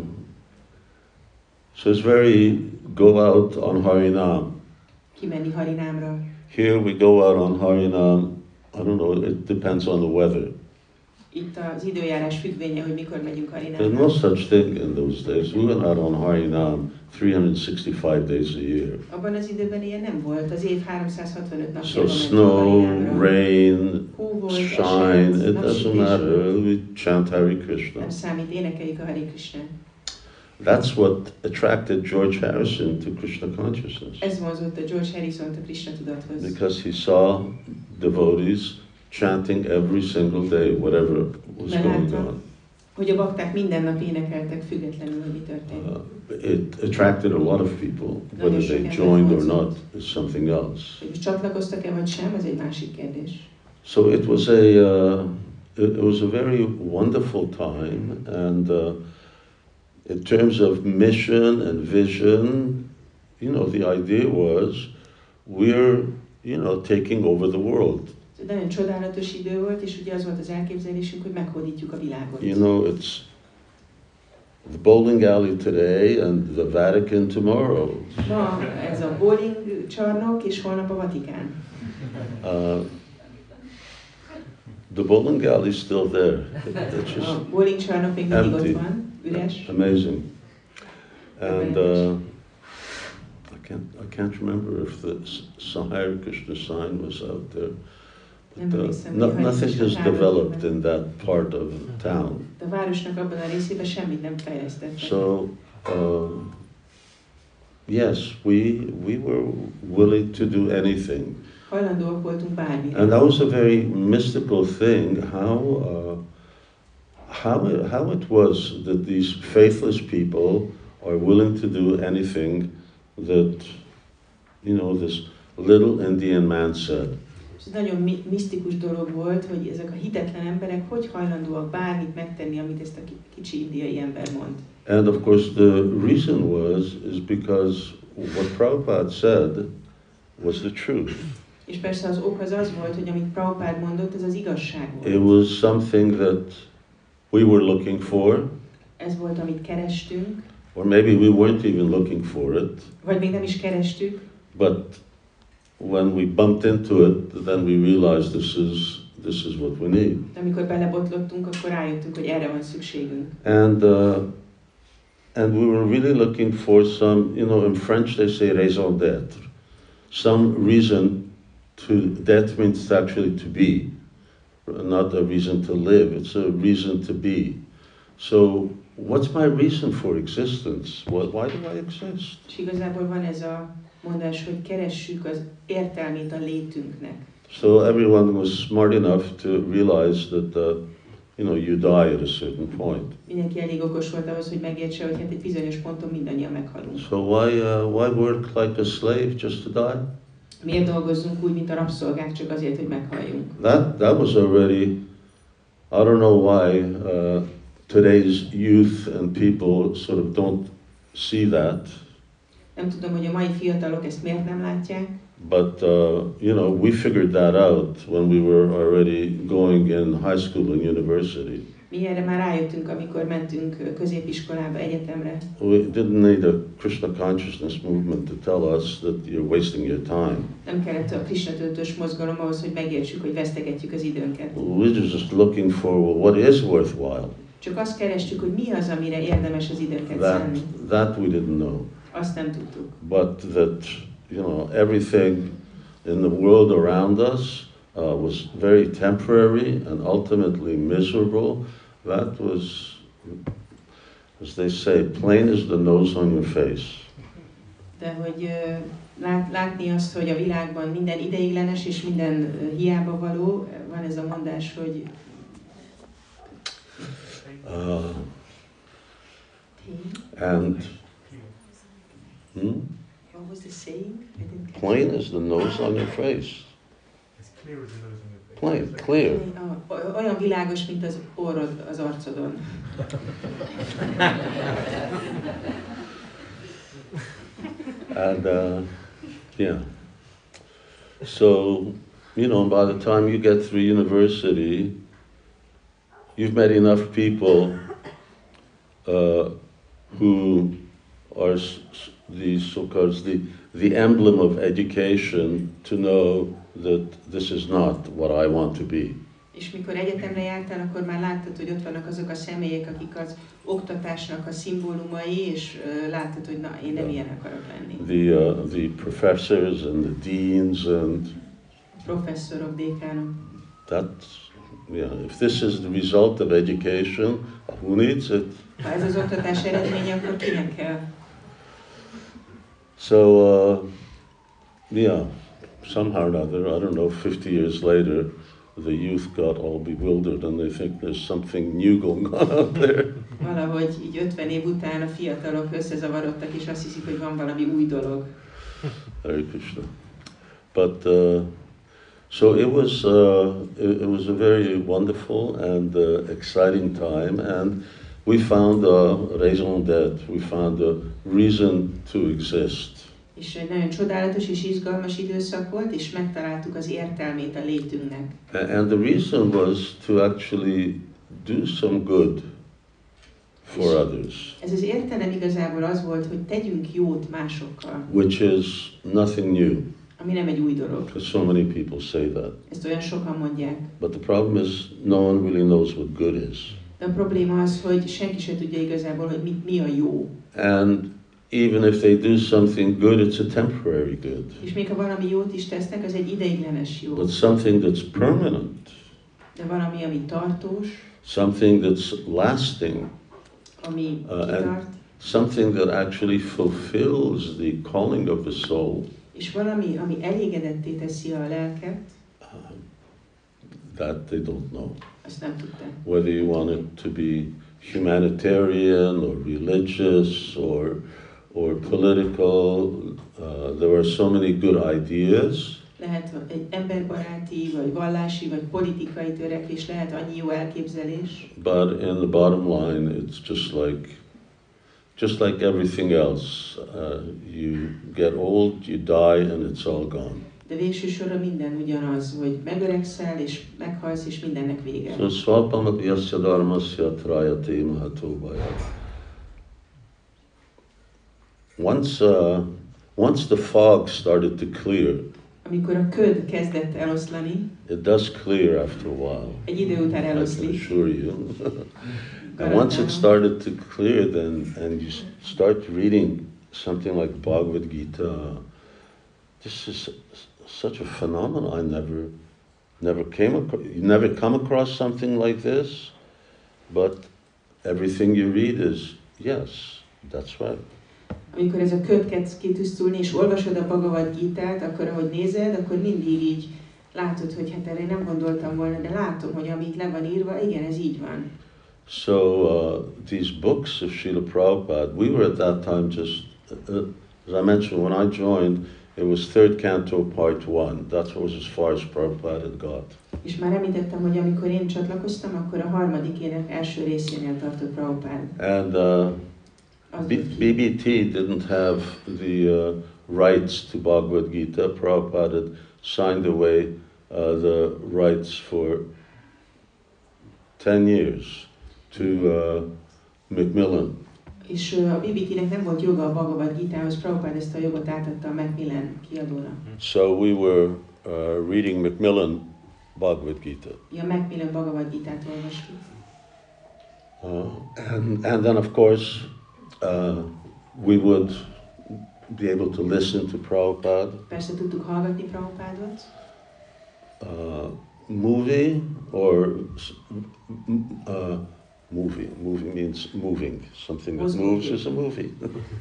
so it's very go out on Harinam. Kimenni Harinámra. Here we go out on Harinam. I don't know. It depends on the weather. Itt az időjárás függvénye, hogy mikor megyünk There's Harinámra. no such thing in those days. We went out on Harinam three hundred sixty-five days a year. Abban az időben ilyen nem volt. Az év háromszázhatvanöt napjában So mentünk snow, Harinámra. rain, Hó volt, shine, esett, it doesn't napsütés matter. volt. We chant Hare Krishna. Nem számít, énekeljük a Hare Krishna. That's what attracted George Harrison to Krishna consciousness. Ez vonzott a George Harrison-t a Krishna tudathoz. Because he saw devotees chanting every single day, whatever was going on. Hogy a bakták minden nap énekeltek, függetlenül, hogy mi történt. Uh, it attracted a lot of people. Whether they joined or not is something else. Hogy csatlakoztak-e vagy sem, ez egy másik kérdés. So it was a, uh, it, it was a very wonderful time, and uh, in terms of mission and vision, you know, the idea was we're, you know, taking over the world. Ez egy nagyon csodálatos idő volt, és ugye az volt az elképzelésünk, hogy meghódítjuk a világot. You know, it's the bowling alley today and the Vatican tomorrow. Ma ez a bowling csarnok, és holnap a Vatikán. Uh, the bowling alley is still there. It, it's just A bowling csarnok még mindig empty. ott van, üres. Amazing. And uh, I can't I can't remember if the S- Hare Krishna sign was out there. But, uh, no, nothing has developed in that part of the town. De a városnak abban a részében semmit nem fejlesztettek. So, um, yes, we we were willing to do anything. Hajlandóak voltunk bármire. And that was a very mystical thing, how uh, how it, how it was that these faithless people are willing to do anything that, you know, this little Indian man said. Ez nagyon mi- misztikus dolog volt, hogy ezek a hitetlen emberek hogy hajlandóak bármit megtenni, amit ezt a ki- kicsi indiai ember mond. And of course the reason was, is because what Prabhupada said was the truth. És persze az ok az az volt, hogy amit Prabhupád mondott, ez az igazság volt. It was something that we were looking for, Ez volt, amit kerestünk, or maybe we weren't even looking for it, vagy még nem is kerestük, but when we bumped into it, then we realized this is this is what we need. de amikor belebotlottunk, akkor rájöttünk, hogy erre van szükségünk. And uh, and we were really looking for some, you know, in French they say raison d'être, some reason to, that means actually to be, not a reason to live, it's a reason to be. So what's my reason for existence? Why, why do I exist? És igazából van ez a mondás, hogy keressük az értelmét a létünknek. So everyone was smart enough to realize that, uh, you know, you die at a certain point. Mindenki elég okos volt ahhoz, hogy megértse, hogy hát egy bizonyos ponton mindannyian meghalunk. So why, uh, why work like a slave just to die? Miért dolgozzunk úgy, mint a rabszolgák, csak azért, hogy meghalljunk? That, that was already, I don't know why uh, today's youth and people sort of don't see that, Nem tudom, hogy a mai fiatalok ezt miért nem látják, but uh, you know, we figured that out when we were already going in high school and university. mi erre már rájöttünk, amikor mentünk középiskolába, egyetemre. We didn't need a Krishna consciousness movement to tell us that you're wasting your time. Nem kellett a Krishna tudatos mozgalom ahhoz, hogy megértsük, hogy vesztegetjük az időnket. We were just looking for, well, what is worthwhile. Csak azt kerestük, hogy mi az, amire érdemes az időnket That, szánni. that we didn't know. Azt nem tudtuk. But that, you know, everything in the world around us uh, was very temporary and ultimately miserable. That was, as they say, plain as the nose on your face. De hogy uh, lát, látni azt, hogy a világban minden ideiglenes és minden uh, hiába való, van ez a mondás, hogy Uh, and hmm? What was the saying? I didn't catch Plain it. as the nose on your face. It's clear as the nose on your face. Plain, clear. Ah, olyan világos, mint az orrod az arcodon. And uh, yeah. So, you know, by the time you get through university, you've met enough people uh, who are s- s- the so-called the, the emblem of education to know that this is not what I want to be. És mikor egyetemre jártál, akkor már láttad, hogy ott vannak azok a személyek, akik az oktatásnak a szimbólumai, és uh, láttad, hogy na, én nem ilyen akarok lenni. The, uh, the professors and the deans and Professzorok, dékánok. that's, yeah, if this is the result of education, who needs it? Ha ez az oktatás eredménye, akkor kinek kell? So, uh, yeah, somehow or other, I don't know, fifty years later, the youth got all bewildered and they think there's something new going on out there. Valahogy így ötven év után a fiatalok összezavarodtak, és azt hiszik, hogy van valami új dolog. Hare Krishna. But, uh, so it was, uh, it, it was a very wonderful and uh, exciting time, and we found a raison d'être, we found a reason to exist. És egy nagyon csodálatos és izgalmas időszak volt, és megtaláltuk az értelmét a létünknek. And the reason was to actually do some good for others, Ez az értelem igazából az volt, hogy tegyünk jót másokkal, which is nothing new, ami nem egy új dolog. because so many people say that. Ezt olyan sokan mondják. But the problem is no one really knows what good is. De a probléma az, hogy senki se tudja igazából, hogy mi, mi a jó. And even if they do something good, it's a temporary good. És még ha valami jót is tesznek, az egy ideiglenes jó. But something that's permanent, De valami, ami tartós, something that's lasting, ami Uh, and- kitart, something that actually fulfills the calling of the soul, és valami, ami elégedetté teszi a lelket, that they don't know. Azt nem tudták. Whether you want it to be humanitarian or religious or or political, uh, there are so many good ideas. Lehet egy emberbaráti, vagy vallási, vagy politikai törekvés, lehet annyi jó elképzelés. But in the bottom line, it's just like, just like everything else. Uh, you get old, you die, and it's all gone. De végső soron minden ugyanaz, hogy megöregszel, és meghalsz, és mindennek vége. So swalpam yasya dharmasya trayate mahatobhaya. Once, uh, once the fog started to clear, Amikor a köd kezdett eloszlani, it does clear after a while. egy idő után I can eloszlik. assure you. And once it started to clear, then and you start reading something like Bhagavad Gita, this is such a phenomenon. I never, never came across. You never come across something like this, but everything you read is yes, that's right. Amikor ez a köd kezd kitisztulni, és olvasod a Bhagavad Gitát, akkor ahogy nézed, akkor mindig így látod, hogy hát erre nem gondoltam volna, de látom, hogy amit le van írva, igen, ez így van. So uh, these books of Srila Prabhupada, we were at that time just, uh, as I mentioned, when I joined, it was third canto, part one. That was as far as Prabhupada had got. És már említettem, hogy amikor én csatlakoztam, akkor a harmadik ének első részénél tartott Prabhupada. And uh, B- BBT didn't have the uh, rights to Bhagavad Gita. Prabhupada had signed away uh, the rights for ten years to uh, Macmillan. És uh, a bé bé té-nek nem volt joga a Bhagavad Gitához, Prabhupada ezt a jogot átadta a Macmillan kiadónak. So we were uh, reading Macmillan Bhagavad Gita. Ja, Macmillan Bhagavad Gitát olvastuk. Uh, and, and then of course uh, we would be able to listen to Prabhupada. Persze tudtuk hallgatni Prabhupádot. Uh, movie or uh, movie. Movie means moving. Something that moves is a movie.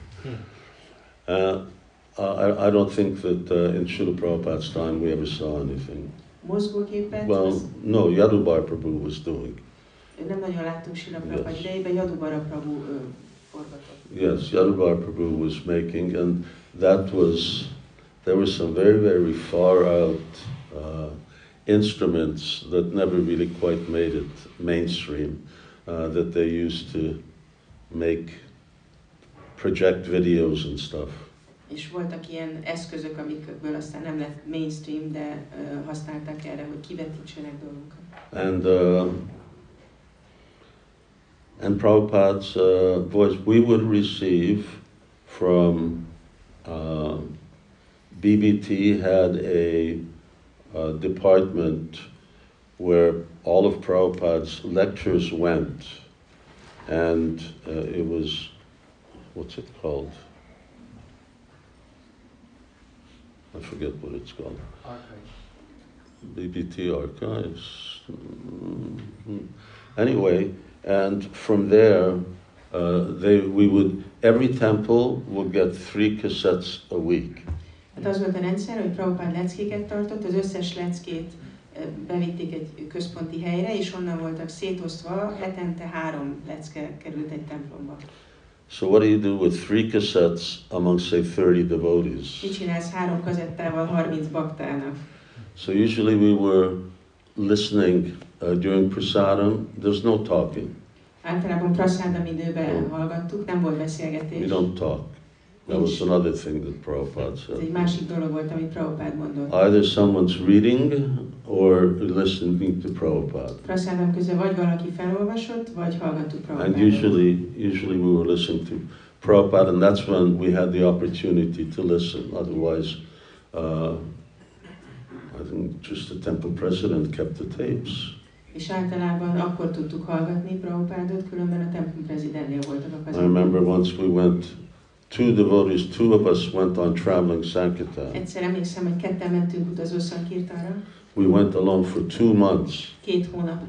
uh, I, I don't think that uh, in Srila Prabhupada's time we ever saw anything. Mozgóképet? Well, no, Yadubar Prabhu was doing. Nem nagyon láttunk Srila Prabhupada idejében, Yadubara Prabhu uh, forgatott. Yes, Yadubar Prabhu was making, and that was, there were some very, very far out uh, instruments that never really quite made it mainstream, uh, that they used to make, project videos and stuff. És voltak ilyen eszközök, amikből aztán nem lett mainstream, de uh, használták erre, hogy kivetítsenek dolgokat. And uh, and Prabhupada's uh, voice, we would receive from uh, B B T had a, a department where all of Prabhupada's lectures went, and uh, it was, what's it called? I forget what it's called. Archives. B B T Archives. Mm-hmm. Anyway, and from there, uh, they we would every temple would get three cassettes a week. Hát az volt a rendszer, hogy Prabhupád leckéket tartott, az összes leckét bevitték egy központi helyre, és onnan voltak szétosztva, hetente három lecke került egy templomba. So what do you do with three cassettes among, say, thirty devotees? Mit csinálsz három kazettával harminc baktának? So usually we were listening uh, during prasadam. There's no talking. Általában prasádam időben Oh. hallgattuk, nem volt beszélgetés. We don't talk. That was another thing that Prabhupada Ez said. egy másik dolog volt, amit Prabhupád mondott. Either someone's reading or listening to Prabhupada. Prasádam közben vagy valaki felolvasott, vagy hallgattuk And Prabhupádot. usually, usually we were listening to Prabhupada, and that's when we had the opportunity to listen. Otherwise, uh, I think just the temple president kept the tapes. És általában akkor tudtuk hallgatni Prabhupádot, különben a templom prezidentnél voltak a I kazetták. remember once we went, two devotees, two of us went on traveling Sankirtan. Egyszer emlékszem, hogy ketten mentünk utazó Sankirtanra, We went along for two months, két hónapra,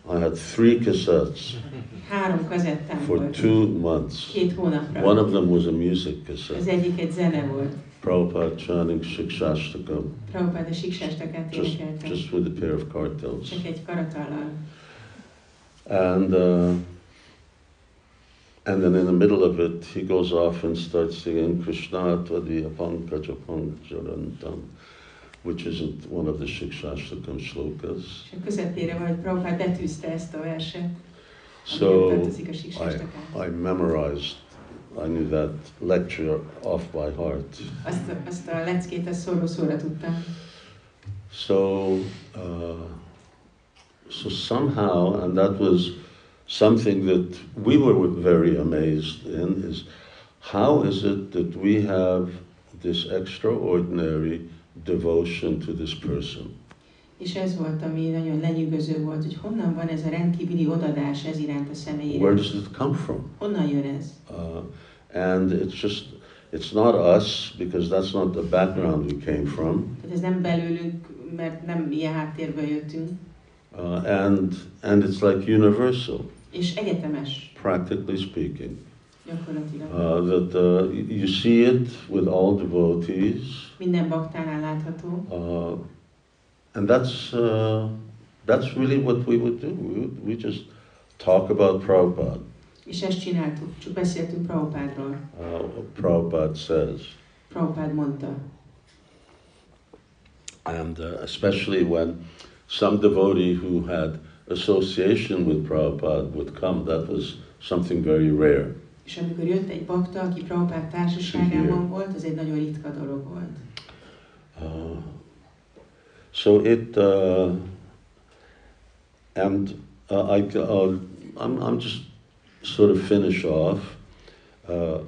I had three cassettes Három kazettám for volt. two months. Két hónapra. One of them was a music Az cassette. egyik egy zene volt. Prabhupada chanting Shikshashtakam, Prabhupád a Siksástakát just, énekelte. just with a pair of cartels. Csak egy karatallal. And uh, and then in the middle of it, he goes off and starts singing Krishna Tvadiya Pankaja Pankajarantam, which isn't one of the Shikshashtakam shlokas. És a közepére van, hogy Prabhupád betűzte ezt a verset. So tartozik a I, Siksástakán. I memorized, I knew that lecture off by heart. Azt, a- azt a leckét, azt szóró-szóra tudtam. So, uh, so somehow, and that was something that we were very amazed in, is how is it that we have this extraordinary devotion to this person? És ez volt, ami nagyon lenyűgöző volt, hogy honnan van ez a rendkívüli odadás ez iránt a személy Where iránt. does it come from? Honnan jön ez? Uh, and it's just, it's not us, because that's not the background we came from. Tehát ez nem belőlünk, mert nem ilyen háttérből jöttünk, Uh, and, and it's like universal, és egyetemes, practically speaking. gyakorlatilag. Uh, that uh, you see it with all devotees, Minden baktánál látható, uh, and that's uh, that's really what we would do. We, would, we just talk about Prabhupada. és ezt csináltuk, csak beszéltünk Prabhupádról. Uh, what Prabhupada says, Prabhupád mondta. and uh, especially when some devotee who had association with Prabhupada would come, that was something very rare. És amikor jött egy bakta, aki Prabhupád társaságában volt, az egy nagyon ritka dolog volt. Uh, so it, uh, and uh, I, uh, I'm, I'm just sort of finish off. Uh,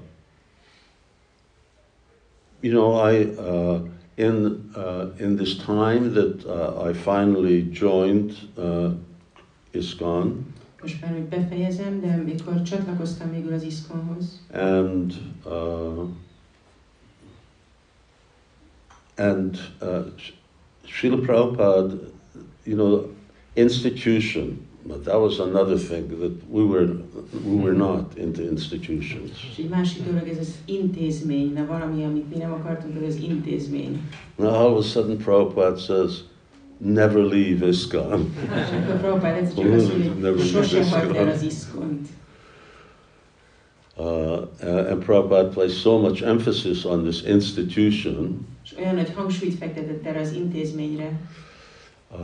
you know, I uh, in uh, in this time that uh, I finally joined uh, ISKCON, Most már, hogy befejezem, de mikor csatlakoztam végül az ISKCON-hoz, and uh, and uh, Srila Prabhupada, you know, institution. But that was another thing that we were we were not into institutions. és egy másik dolog, ez az intézmény, na valami, amit mi nem akartunk, az az intézmény. Now all of a sudden Prabhupada says, "Never leave ISKCON." És akkor Prabhupád egyszer csak azt mondja, hogy sose hagyd el az ISKCON-t. Uh, and Prabhupada placed so much emphasis on this institution. És olyan nagy hangsúlyt fektetett erre az intézményre. Uh,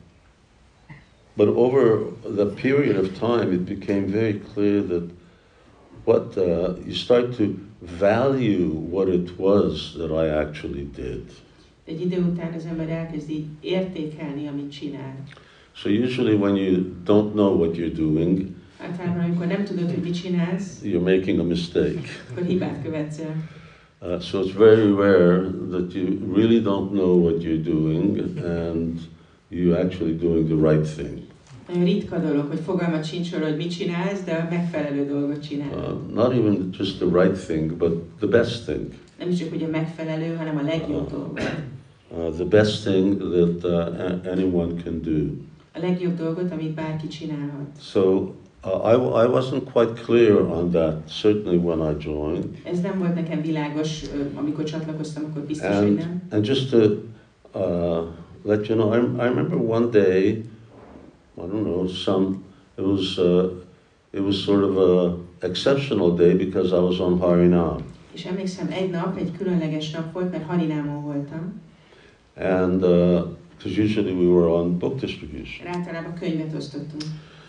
but over the period of time, it became very clear that what uh, you start to value what it was that I actually did. Egy idő után az ember elkezdi értékelni, amit csinál. So usually when you don't know what you're doing, Általában, amikor nem tudod, hogy mit csinálsz, you're making a mistake. akkor hibát követsz el. Uh, so it's very rare that you really don't know what you're doing and you're actually doing the right thing. Nagyon ritka dolog, hogy fogalmat sincs arra, hogy mit csinálsz, de a megfelelő dolgot csinálod. Uh, not even just the right thing, but the best thing. Nem is csak, hogy a megfelelő, hanem a legjobb Uh, dolgot. Uh, the best thing that uh, a- anyone can do. A legjobb dolgot, amit bárki csinálhat. So uh, I, w- I wasn't quite clear on that, certainly when I joined. Ez nem volt nekem világos, ö, amikor csatlakoztam, akkor biztos, hogy And, nem. and just to uh, let you know, I, I remember one day, I don't know, some, it was, uh, it was sort of a exceptional day because I was on Harinam. És emlékszem, egy nap, egy különleges nap volt, mert Harinámon voltam. And because uh, usually we were on book distribution. Általában könyvet osztottunk.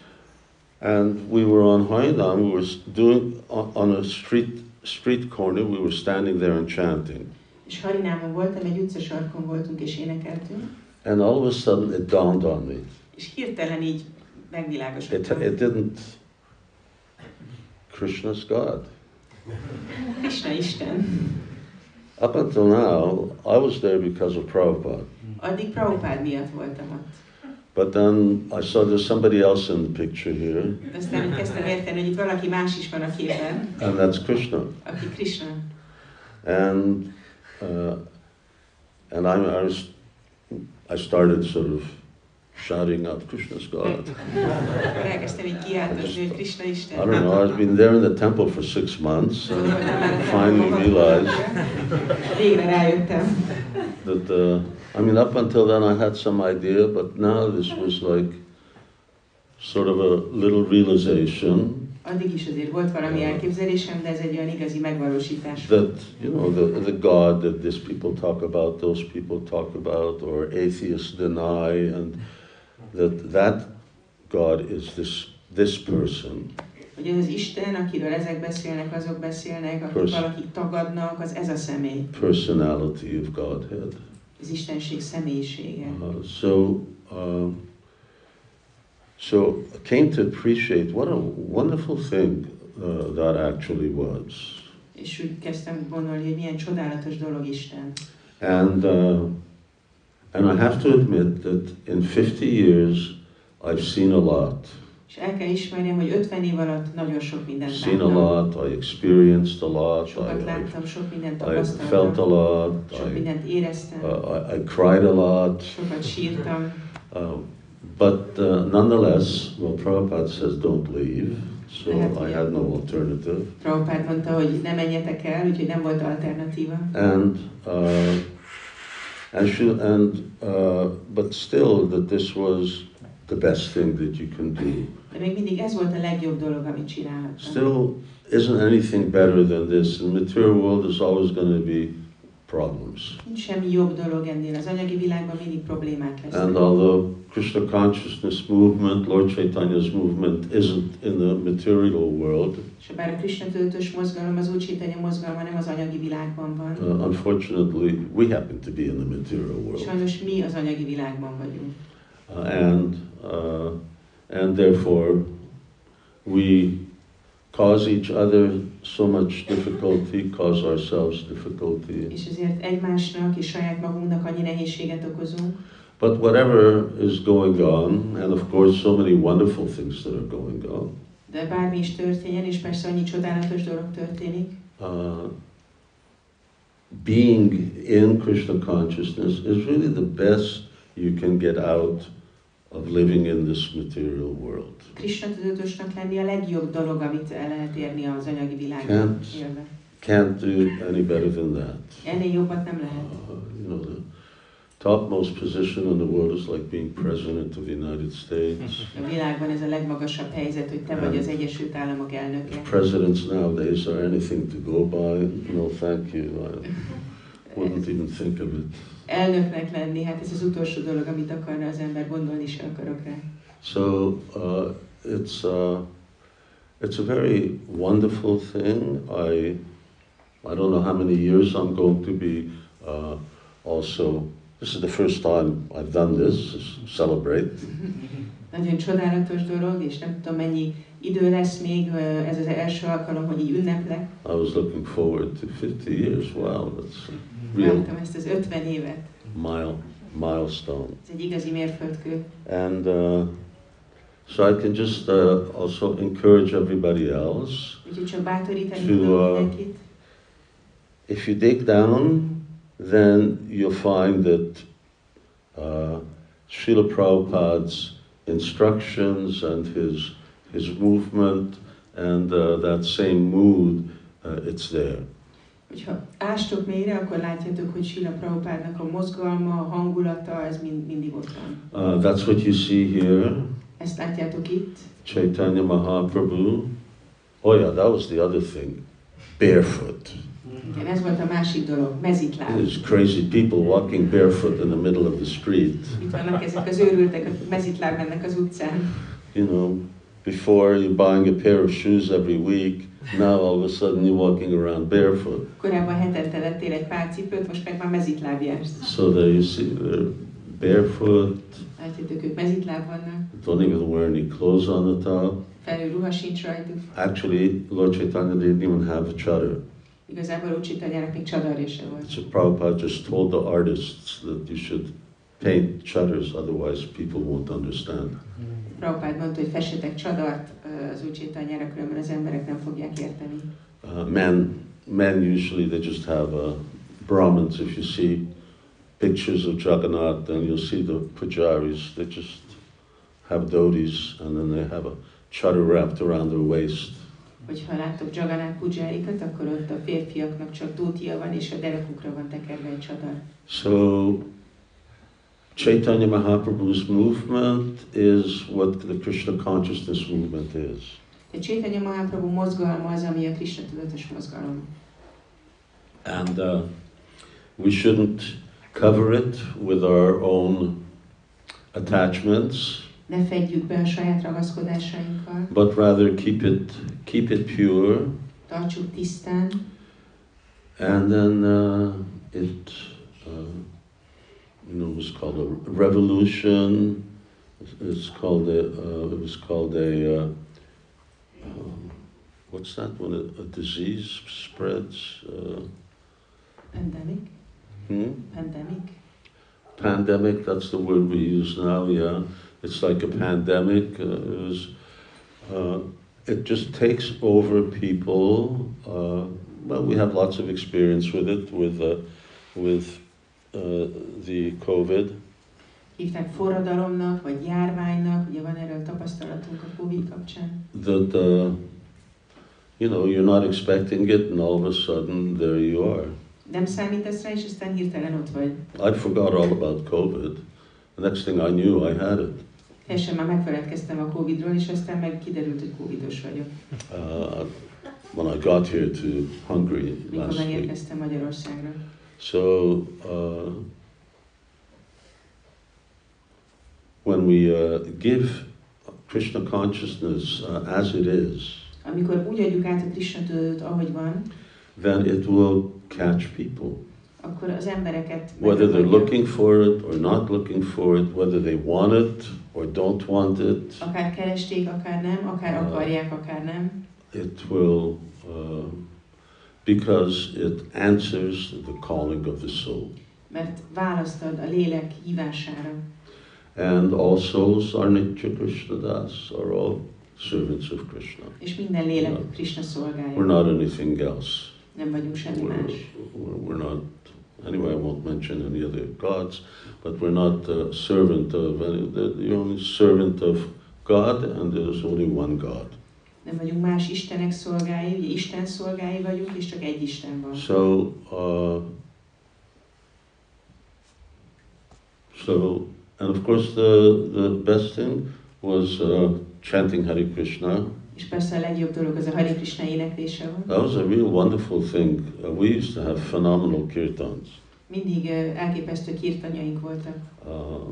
And we were on Harinam, we were s- doing, on, on a street, street corner, we were standing there and chanting. És Harinámon voltam, egy utcasarkon voltunk és énekeltünk. And all of a sudden it dawned on me. És hirtelen így It, megvilágosodtam. it didn't, Krishna's God. Krishna Isten. Up until now, I was there because of Prabhupada. Addig Prabhupád miatt voltam ott. But then I saw there's somebody else in the picture here, De aztán úgy kezdtem érteni, hogy itt valaki más is van a képen, and that's Krishna. aki Krishna. And uh, and I, I was, I started sort of shouting out, Krishna's God. Elkezdtem így kiáltani, hogy Krishna I Isten. don't know, I've been there in the temple for six months and finally realized Végre rájöttem. that, uh, I mean, up until then I had some idea, but now this was like sort of a little realization Addig is azért volt valami elképzelésem, de ez egy olyan igazi megvalósítás. that, you know, the, the God that these people talk about, those people talk about, or atheists deny, and that that God is this, this person. Hogy ez az Isten, akiről ezek beszélnek, azok beszélnek, akik Pers- valakik tagadnak, az ez a személy. Personality of Godhead. Az Istenség személyisége. Uh, so, uh, so I came to appreciate what a wonderful thing uh, that actually was. És úgy kezdtem gondolni, hogy milyen csodálatos dolog Isten. And, uh, and I have to admit that in fifty years I've seen a lot. És el kell ismerjem, hogy ötven év alatt nagyon sok mindent Seen a láttam. lot, I experienced a lot, I, Sokat I, láttam, sok mindent I felt tapasztaltam, a lot, sok I, mindent éreztem, uh, I, I cried a lot. sokat sírtam. Uh, but uh, nonetheless, well, Prabhupada says don't leave, so I had no alternative. Prabhupád mondta, hogy ne menjetek el, úgyhogy nem volt alternatíva. And uh, and, she, and uh, but still, that this was the best thing that you can do. De még mindig ez volt a legjobb dolog, amit csinálhattam. Still, isn't anything better than this? In the material world, there's always going to be problems. Nincs semmi jobb dolog ennél. Az anyagi világban mindig problémák lesznek. And although Krishna consciousness movement, Lord Chaitanya's movement, isn't in the material world, És bár a Krishna tudatos mozgalom, az Úr Chaitanya mozgalma nem az anyagi világban van. uh, unfortunately, we happen to be in the material world. Sajnos mi az anyagi világban vagyunk. Uh, and, uh, and therefore, we cause each other so much difficulty, cause ourselves difficulty. És ezért egymásnak és saját magunknak annyi nehézséget okozunk. But whatever is going on, and of course so many wonderful things that are going on, De bármi is történjen, és persze annyi csodálatos dolog történik, uh, being in Krishna consciousness is really the best you can get out of living in this material world. Krishna tudatosnak lenni a legjobb dolog, amit el lehet érni az anyagi világban Can't. élve. Can't do any better than that. Ennél jobbat nem lehet. Uh, you know, the topmost position in the world is like being president of the United States. A világban ez a legmagasabb helyzet, hogy te vagy az Egyesült Államok elnöke. If presidents nowadays are anything to go by, no thank you, I wouldn't even think of it. Elnöknek lenni, hát ez az utolsó dolog, amit akarna az ember, gondolni sem akarok rá. So uh, it's, uh, it's a very wonderful thing. I, I don't know how many years I'm going to be uh, also. This is the first time I've done this, celebrate. Nagyon csodálatos dolog, és nem tudom mennyi idő lesz még, ez az első alkalom, hogy így ünneplek. I was looking forward to fifty years. Wow, that's a real Vártam ezt az ötven évet. mile, milestone. Ez egy igazi mérföldkő. And uh, so I can just uh, also encourage everybody else. Úgyhogy csak bátorítani To, tudom uh, mindenkit. If you dig down, then you'll find that uh, Srila Prabhupada's instructions and his, his movement and uh, that same mood, uh, it's there. Hogyha ástok mélyre, akkor látjátok, hogy Srila Prabhupádnak a mozgalma, a hangulata, ez mind, mindig ott van. Uh, that's what you see here, Ezt látjátok itt. Chaitanya Mahaprabhu. Oh yeah, that was the other thing, barefoot. Igen, ez volt a másik dolog, mezitláb. There's crazy people walking barefoot in the middle of the street. Itt vannak ezek az őrültek, akik mezitláb mennek az utcán. You know, before you're buying a pair of shoes every week, now all of a sudden you're walking around barefoot. Korábban hetente vettél egy pár cipőt, most meg már mezitláb jársz. So there you see, they're barefoot, Látjátok, ők mezitláb vannak, don't even wear any clothes on the top. felül ruha sincs rajtuk. Actually, Lord Chaitanya didn't even have a chadar. Igazából Úr Chaitanyának még csadarja sem volt. So Prabhupada just told the artists that you should paint chadars, otherwise people won't understand. Prabhupád mondta, hogy fessetek csadart az Úr Chaitanyára, különben az emberek nem fogják érteni. Uh, men, men usually they just have uh, Brahmins. If you see pictures of Jagannath, and you'll see the pujaris, they just have dhotis, and then they have a chadar wrapped around their waist. Hogyha láttok Jagannath pujárikat, akkor ott a férfiaknak csak dótia van, és a derekukra van tekerve egy csadar. So, Chaitanya Mahaprabhu's movement is what the Krishna consciousness movement is. A Chaitanya Mahaprabhu mozgalma az, ami a Krishna tudatos mozgalom. And uh, we shouldn't cover it with our own attachments, Ne fedjük be a saját ragaszkodásainkkal, but rather keep it keep it pure, tartsuk tisztán, and then uh, it uh, you know, it was called a revolution. It's called a uh, it was called a uh, um, what's that when a, a disease spreads? Uh, pandemic, hmm? pandemic. Pandemic, that's the word we use now, yeah. It's like a pandemic. Uh, it, was, uh, it just takes over people. Uh, well, we have lots of experience with it, with, uh, with uh, the COVID. Hívták forradalomnak, vagy járványnak, ugye van erről tapasztalatunk a Covid kapcsán. That, uh, you know, you're not expecting it, and all of a sudden, there you are. Nem számítasz rá, és aztán hirtelen ott vagy. I forgot all about COVID. The next thing I knew, I had it. Teljesen már megfeledkeztem a Covidról, és aztán meg kiderült, hogy Covidos vagyok. Uh, when I got here to Hungary Mikor last week. megérkeztem Magyarországra. So, uh, when we uh, give Krishna consciousness uh, as it is, Amikor úgy adjuk át a Krishna tudatot, ahogy van, then it will catch people. akkor az embereket Whether they're megragadja. looking for it or not looking for it, whether they want it or don't want it, Akár keresték, akár nem, akár akarják, akár nem. it will, uh, because it answers the calling of the soul. Mert választ ad a lélek hívására. And all souls are Nitya Krishna Das, are all servants of Krishna. És minden lélek Krishna szolgálja. We're not anything else. Nem vagyunk semmi We're, más. we're, we're not, anyway, I won't mention any other gods, but we're not a servant of any, the, the only servant of God, and there's only one God. Nem vagyunk más istenek szolgái, ugye Isten szolgái vagyunk, és csak egy Isten van. So, uh, so, and of course the, the best thing was uh, chanting Hare Krishna. És persze a legjobb dolog az a Hare Krishna éneklése van. That was a real wonderful thing. Uh, we used to have phenomenal kirtans. Mindig uh, elképesztő kirtanyaink voltak. Uh,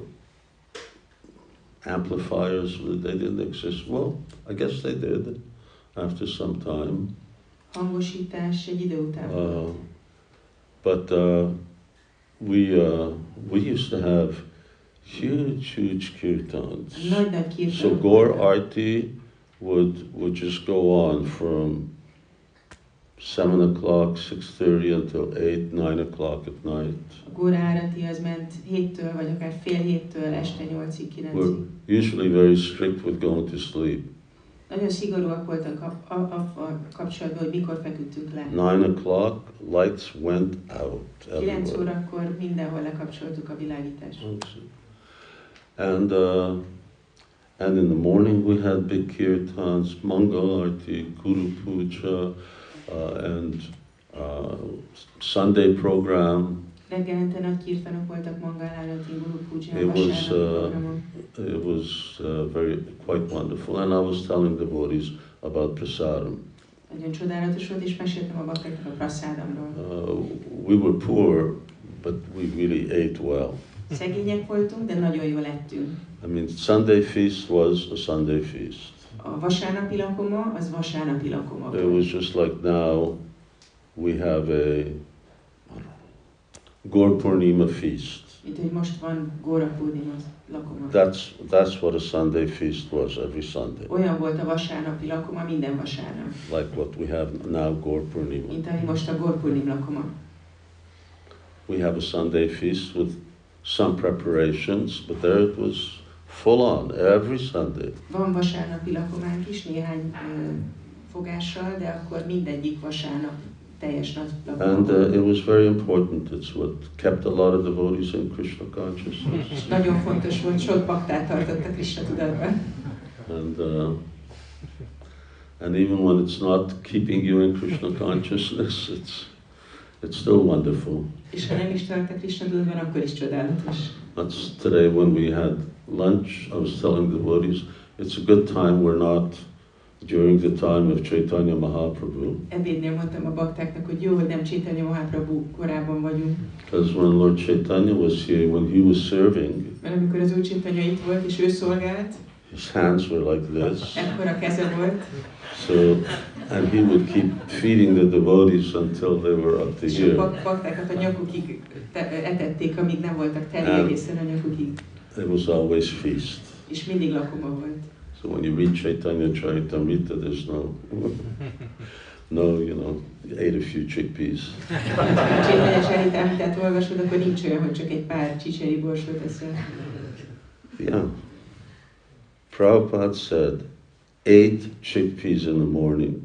amplifiers, they didn't exist. Well, I guess they did after some time. Hangosítás egy idő után. Uh, but uh, we, uh, we used to have huge, huge kirtans. Nagy-nagy kirtanok So Gaur voltak. Arti would, would just go on from seven o'clock, six thirty until eight, nine o'clock at night. A Góra Árati az ment héttől, vagy akár fél héttől este nyolcig, kilencig. We're usually very strict with going to sleep. Nagyon szigorúak voltak a, a, a, a kapcsolatban, hogy mikor feküdtünk le. Nine o'clock, lights went out Kilenc everywhere. órakor mindenhol lekapcsoltuk a világítást. And uh, and in the morning we had big kirtans, Mangal Arti, Guru Puja, uh, and uh, Sunday program. Reggelente nagy kirtanok voltak, Mangal Árati, Guru Puja, It was, vasárnapi uh, programon. It was uh, very quite wonderful, and I was telling devotees about prasadam. Nagyon csodálatos volt, és meséltem a baktáknak a praszádamról. Uh, we were poor, but we really ate well. Szegények voltunk, de nagyon jól ettünk. I mean, Sunday feast was a Sunday feast. A vasárnapi lakoma, az vasárnapi lakoma It volt. was just like now we have a Gaur Purnima feast. Mint hogy most van Góra Purnima lakoma. That's that's what a Sunday feast was every Sunday, Olyan volt a vasárnapi lakoma minden vasárnap, like what we have now Gaur Purnima. mint ami most a Gór Purnim lakoma. We have a Sunday feast with some preparations, but there it was full on every Sunday. Van vasárnapi lakománk is, néhány ö, fogással, de akkor mindegyik vasárnap teljes nagy And lakomban. uh, it was very important. It's what kept a lot of devotees in Krishna consciousness. Nagyon fontos volt, sok baktát tartott a Krishna tudatban. And uh, and even when it's not keeping you in Krishna consciousness, it's it's still wonderful. És ha nem is tart a Krishna tudatban, akkor is csodálatos. That's today when we had lunch. I was telling the devotees, it's a good time. We're not during the time of Chaitanya Mahaprabhu. Ebédnél mondtam a baktáknak, hogy jó, hogy nem Chaitanya Mahaprabhu korában vagyunk. Because when Lord Chaitanya was here, when he was serving, Mert amikor az Úr Chaitanya itt volt, és ő szolgált, his hands were like this. ekkora keze volt, So, and he would keep feeding the devotees until they were up to és a here. bak- baktákat a nyakukig te- etették, amíg nem voltak teli And- egészen a nyakukig. It was always feast. És mindig lakoma volt. So when you read Chaitanya Charitamrita, there's no, no, you know, you ate a few chickpeas. Ha a Chaitanya Charitamritát olvasod, akkor nincs olyan, hogy csak egy pár csicseri borsot eszel. Yeah. Prabhupada said, eight chickpeas in the morning.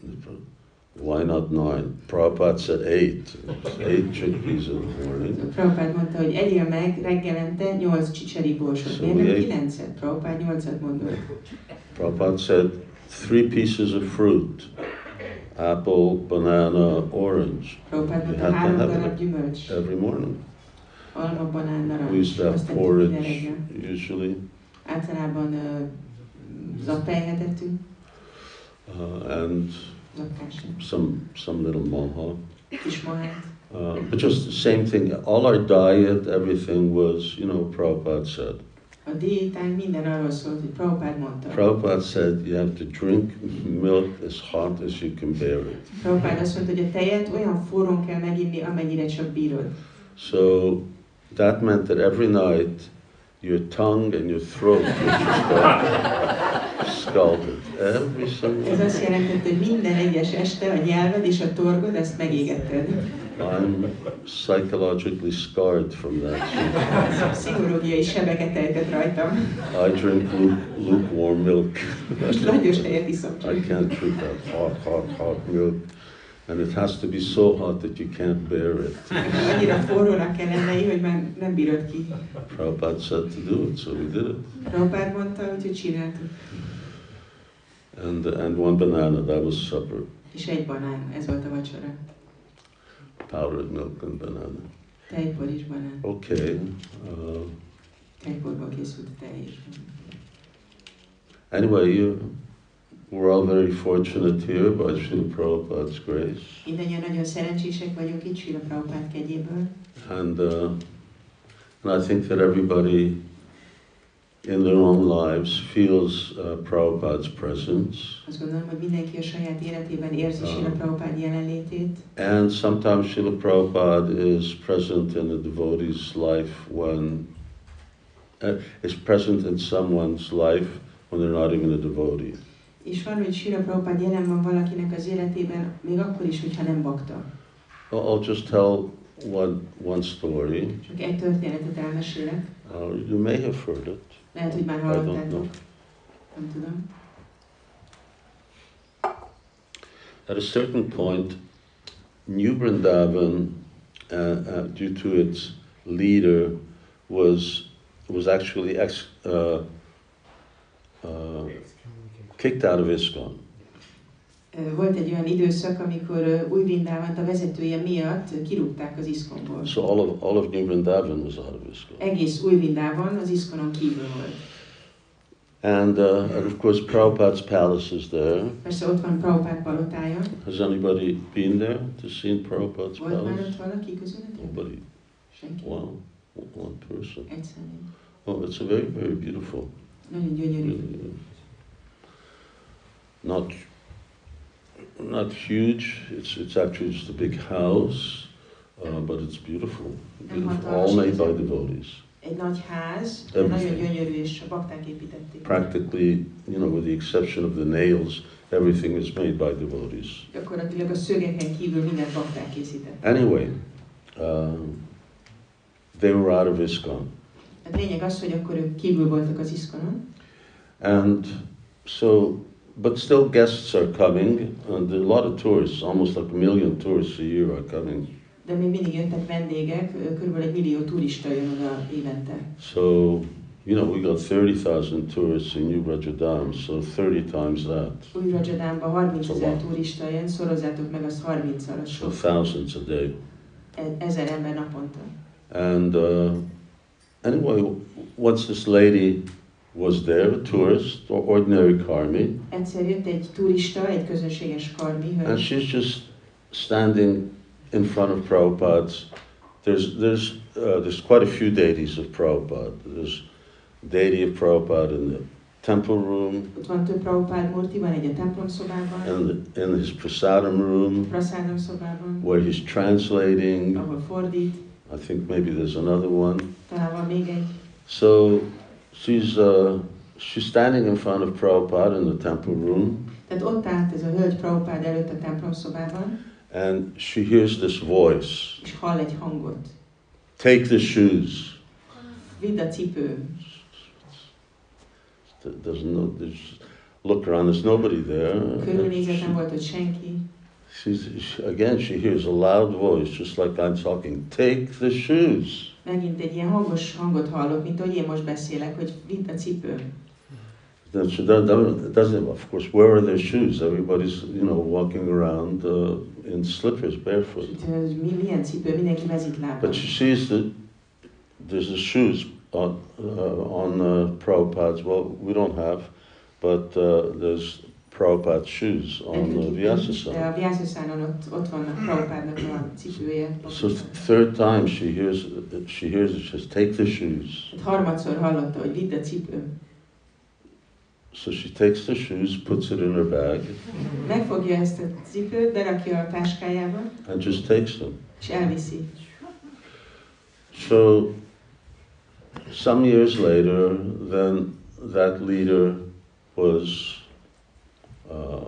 Why not nine? Prabhupada said eight. Eight chickpeas in the morning. Prabhupád mondta, hogy egyél meg reggelente nyolc csicseri borsot. So Miért nem we ate- kilencet? Prabhupád nyolcat mondott. Prabhupada said, three pieces of fruit. Apple, banana, orange. Prabhupád You mondta, have to három have darab it gyümölcs. every morning. Alma, banán, We narancs. used to have Azt tettük minden porridge, reggel. usually. Általában uh, zappelyhet ettünk, Uh, and zappásra, some some little moha. kis mahát. Uh, but just the same thing. All our diet, everything was, you know, Prabhupada said. A diétánk minden arról szólt, hogy Prabhupád mondta. Prabhupada said you have to drink milk as hot as you can bear it. Prabhupád azt mondta, hogy a tejet olyan forrón kell meginni, amennyire csak bírod. So that meant that every night your tongue and your throat was scalded. Every single Ez azt jelentette, hogy minden egyes este a nyelved és a torgod, ezt megégetted. I'm psychologically scarred from that. Pszichológiai sebeket ejtett rajtam. I drink luke, lukewarm milk. Most langyos tejet iszom I csak. can't drink that hot, hot, hot milk. And it has to be so hot that you can't bear it. Annyira forrónak kell lennei, hogy már nem bírod ki. Prabhupada said to do it, so we did it. Prabhupád mondta, úgyhogy csináltuk. And, and one banana, that was supper. És egy banán, ez volt a vacsora. Powdered milk and banana. Tejpor és banán. Okay. Uh, Tejporból készült a tej is. anyway, you, we're all very fortunate here by Srila Prabhupada's grace. Mindannyian nagyon szerencsések vagyunk itt Srila Prabhupád kegyéből. And, uh, and I think that everybody in their own lives feels uh, Prabhupada's presence. Azt gondolom, hogy mindenki a saját életében érzi Srila Prabhupád jelenlétét. And sometimes Srila Prabhupada is present in a devotee's life when, uh, is present in someone's life when they're not even a devotee. És van, hogy Srila Prabhupád jelen van valakinek az életében, még akkor is, hogyha nem bakta. I'll I'll just tell one, one story. Csak egy történetet elmesélek. Uh, you may have heard it. Lehet, hogy már I don't know. hallottátok. Nem tudom. At a certain point, New Vrindavan, uh, uh, due to its leader, was was actually ex, uh, uh, kicked out of ISKCON. Ö, Volt egy olyan időszak, amikor ö, Új Vrindávant a vezetője miatt kirúgták az iszkonból. So all of all of New Vrindavan was out of ISKCON. Egész Új Vrindávan az iszkonon kívül volt. And, uh, and of course, Prabhupada's palace is there. Persze ott van Prabhupád palotája. Has anybody been there to see Prabhupada's Volt már palace? ott valaki közületek? Nobody. Senki? Wow, one person. Egy személy. Oh, it's a very, very beautiful. Nagyon gyönyörű. Really, not, not huge. It's it's actually just a big house, uh, but it's beautiful. Beautiful. All made by devotees. Egy nagy ház, de Everything. nagyon gyönyörű, és a bakták építették. Practically, you know, with the exception of the nails, everything is made by devotees. Gyakorlatilag a szögeken kívül mindent bakták készített. Anyway, um, they were out of ISKCON. A lényeg az, hogy akkor ők kívül voltak az iszkonon, And so but still guests are coming, and there are a lot of tourists, almost like a million tourists a year are coming. De még mindig jöttek vendégek, körülbelül egy millió turista jön oda évente. So, you know, we got thirty thousand tourists in New Rajadam, so thirty times that. Új Rajadamban harmincezer turista jön, szorozzátok meg azt harmincszor, az So sok. thousands a day. E- Ezer ember naponta. And uh, anyway, once this lady was there, a tourist, or ordinary karmi, Egyszer jött egy turista, egy közönséges karmi and hölgy, she's just standing in front of Prabhupada's. There's, there's, uh, there's quite a few deities of Prabhupada. There's deity of Prabhupada in the temple room, ott van több Prabhupád murti, van egy a templom szobában, and in his prasadam room, prasádam szobában, where he's translating. ahol fordít, I think maybe there's another one. talán van még egy. So she's uh, she's standing in front of Prabhupada in the temple room, Tehát ott állt ez a hölgy Prabhupád előtt a templom szobában, and she hears this voice: és hall egy hangot. "Take the shoes." Vidd a cipő. There's no. There's look around. There's nobody there. Körülnézett, nem volt ott senki. She's she, again. She hears a loud voice, just like I'm talking. Take the shoes. Megint egy ilyen hangos hangot hallok, mint ahogy én most beszélek, hogy vidd a cipő. Then she doesn't, doesn't. Of course, where are their shoes? Everybody's, you know, walking around uh, in slippers, barefoot. És mi, milyen cipő? Mindenki mezitlábban. But she sees that there's the shoes on uh, on uh, Prabhupada's. Well, we don't have, but uh, there's Prabhupada's shoes on Nekünk the itt nincs, Vyasasana. de a Vyasasana ott, ott vannak Prabhupádnak a cipője. So third time she hears she hears it. She says, "Take the shoes." Hát harmadszor hallotta, hogy vidd a cipő. So she takes the shoes, puts it in her bag, Megfogja ezt a cipőt, berakja a táskájába, and just takes them. és elviszi. So some years later, then that leader was uh,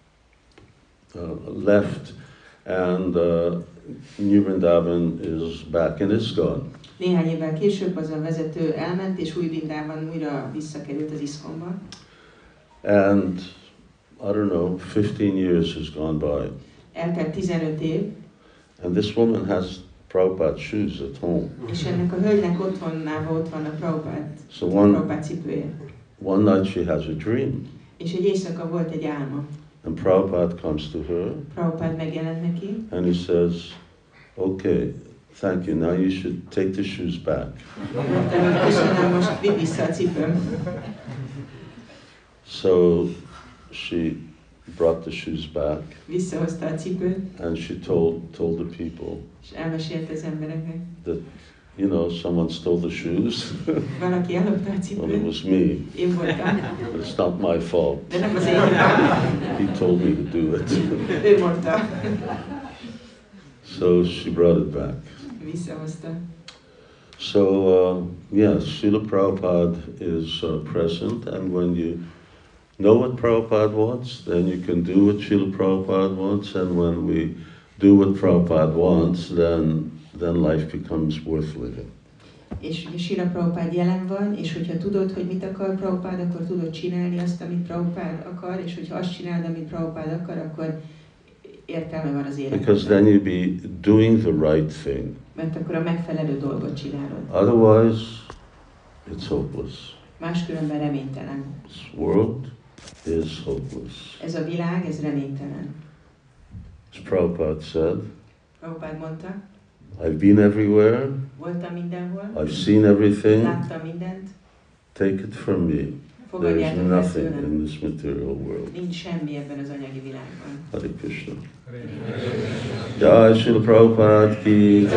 uh, left, and uh, New Vrindavan is back in ISKCON. Néhány évvel később az a vezető elment, és új Vrindában újra visszakerült az iszkonba. And I don't know, fifteen years has gone by, Eltelt tizenöt év, and this woman has Prabhupada's shoes at home. és ennek a hölgynek otthonában ott van a Prabhupád, So one Prabhupád cipője. one night she has a dream, És egy éjszaka volt egy álma. and Prabhupada comes to her, Prabhupád megjelent neki, and he says, "Okay, thank you. Now you should take the shoes back." mondta, hogy köszönöm, most vidd vissza a cipőm. So she brought the shoes back, Visszahozta a cipőt, and she told told the people, és elmesélte az embereknek. you know, someone stole the shoes. Valaki ellopta a Well, it cipőt, was me, én voltam, but it's not my fault. de nem az én hibám. He told me to do it. Ő mondta. So she brought it back. Visszahozta. So uh, yes, Srila Prabhupada is uh, present, and when you know what Prabhupada wants, then you can do what Srila Prabhupada wants, and when we do what Prabhupada wants, then then life becomes worth living. És ugye Srila Prabhupád jelen van, és hogyha tudod, hogy mit akar Prabhupád, akkor tudod csinálni azt, amit Prabhupád akar, és hogyha azt csinálod, amit Prabhupád akar, akkor értelme van az életben. Because then you'll be doing the right thing. Mert akkor a megfelelő dolgot csinálod. Otherwise, it's hopeless. Máskülönben reménytelen. This world is hopeless. Ez a világ, ez reménytelen. As Prabhupada said, Prabhupád mondta, I've been everywhere, voltam mindenhol, I've seen everything, láttam mindent, take it from me. There's fogadjátok el nothing tőlem. in this material world. Nincs semmi ebben az anyagi világban. Hare Krishna. Hare Jai Srila Prabhupada ki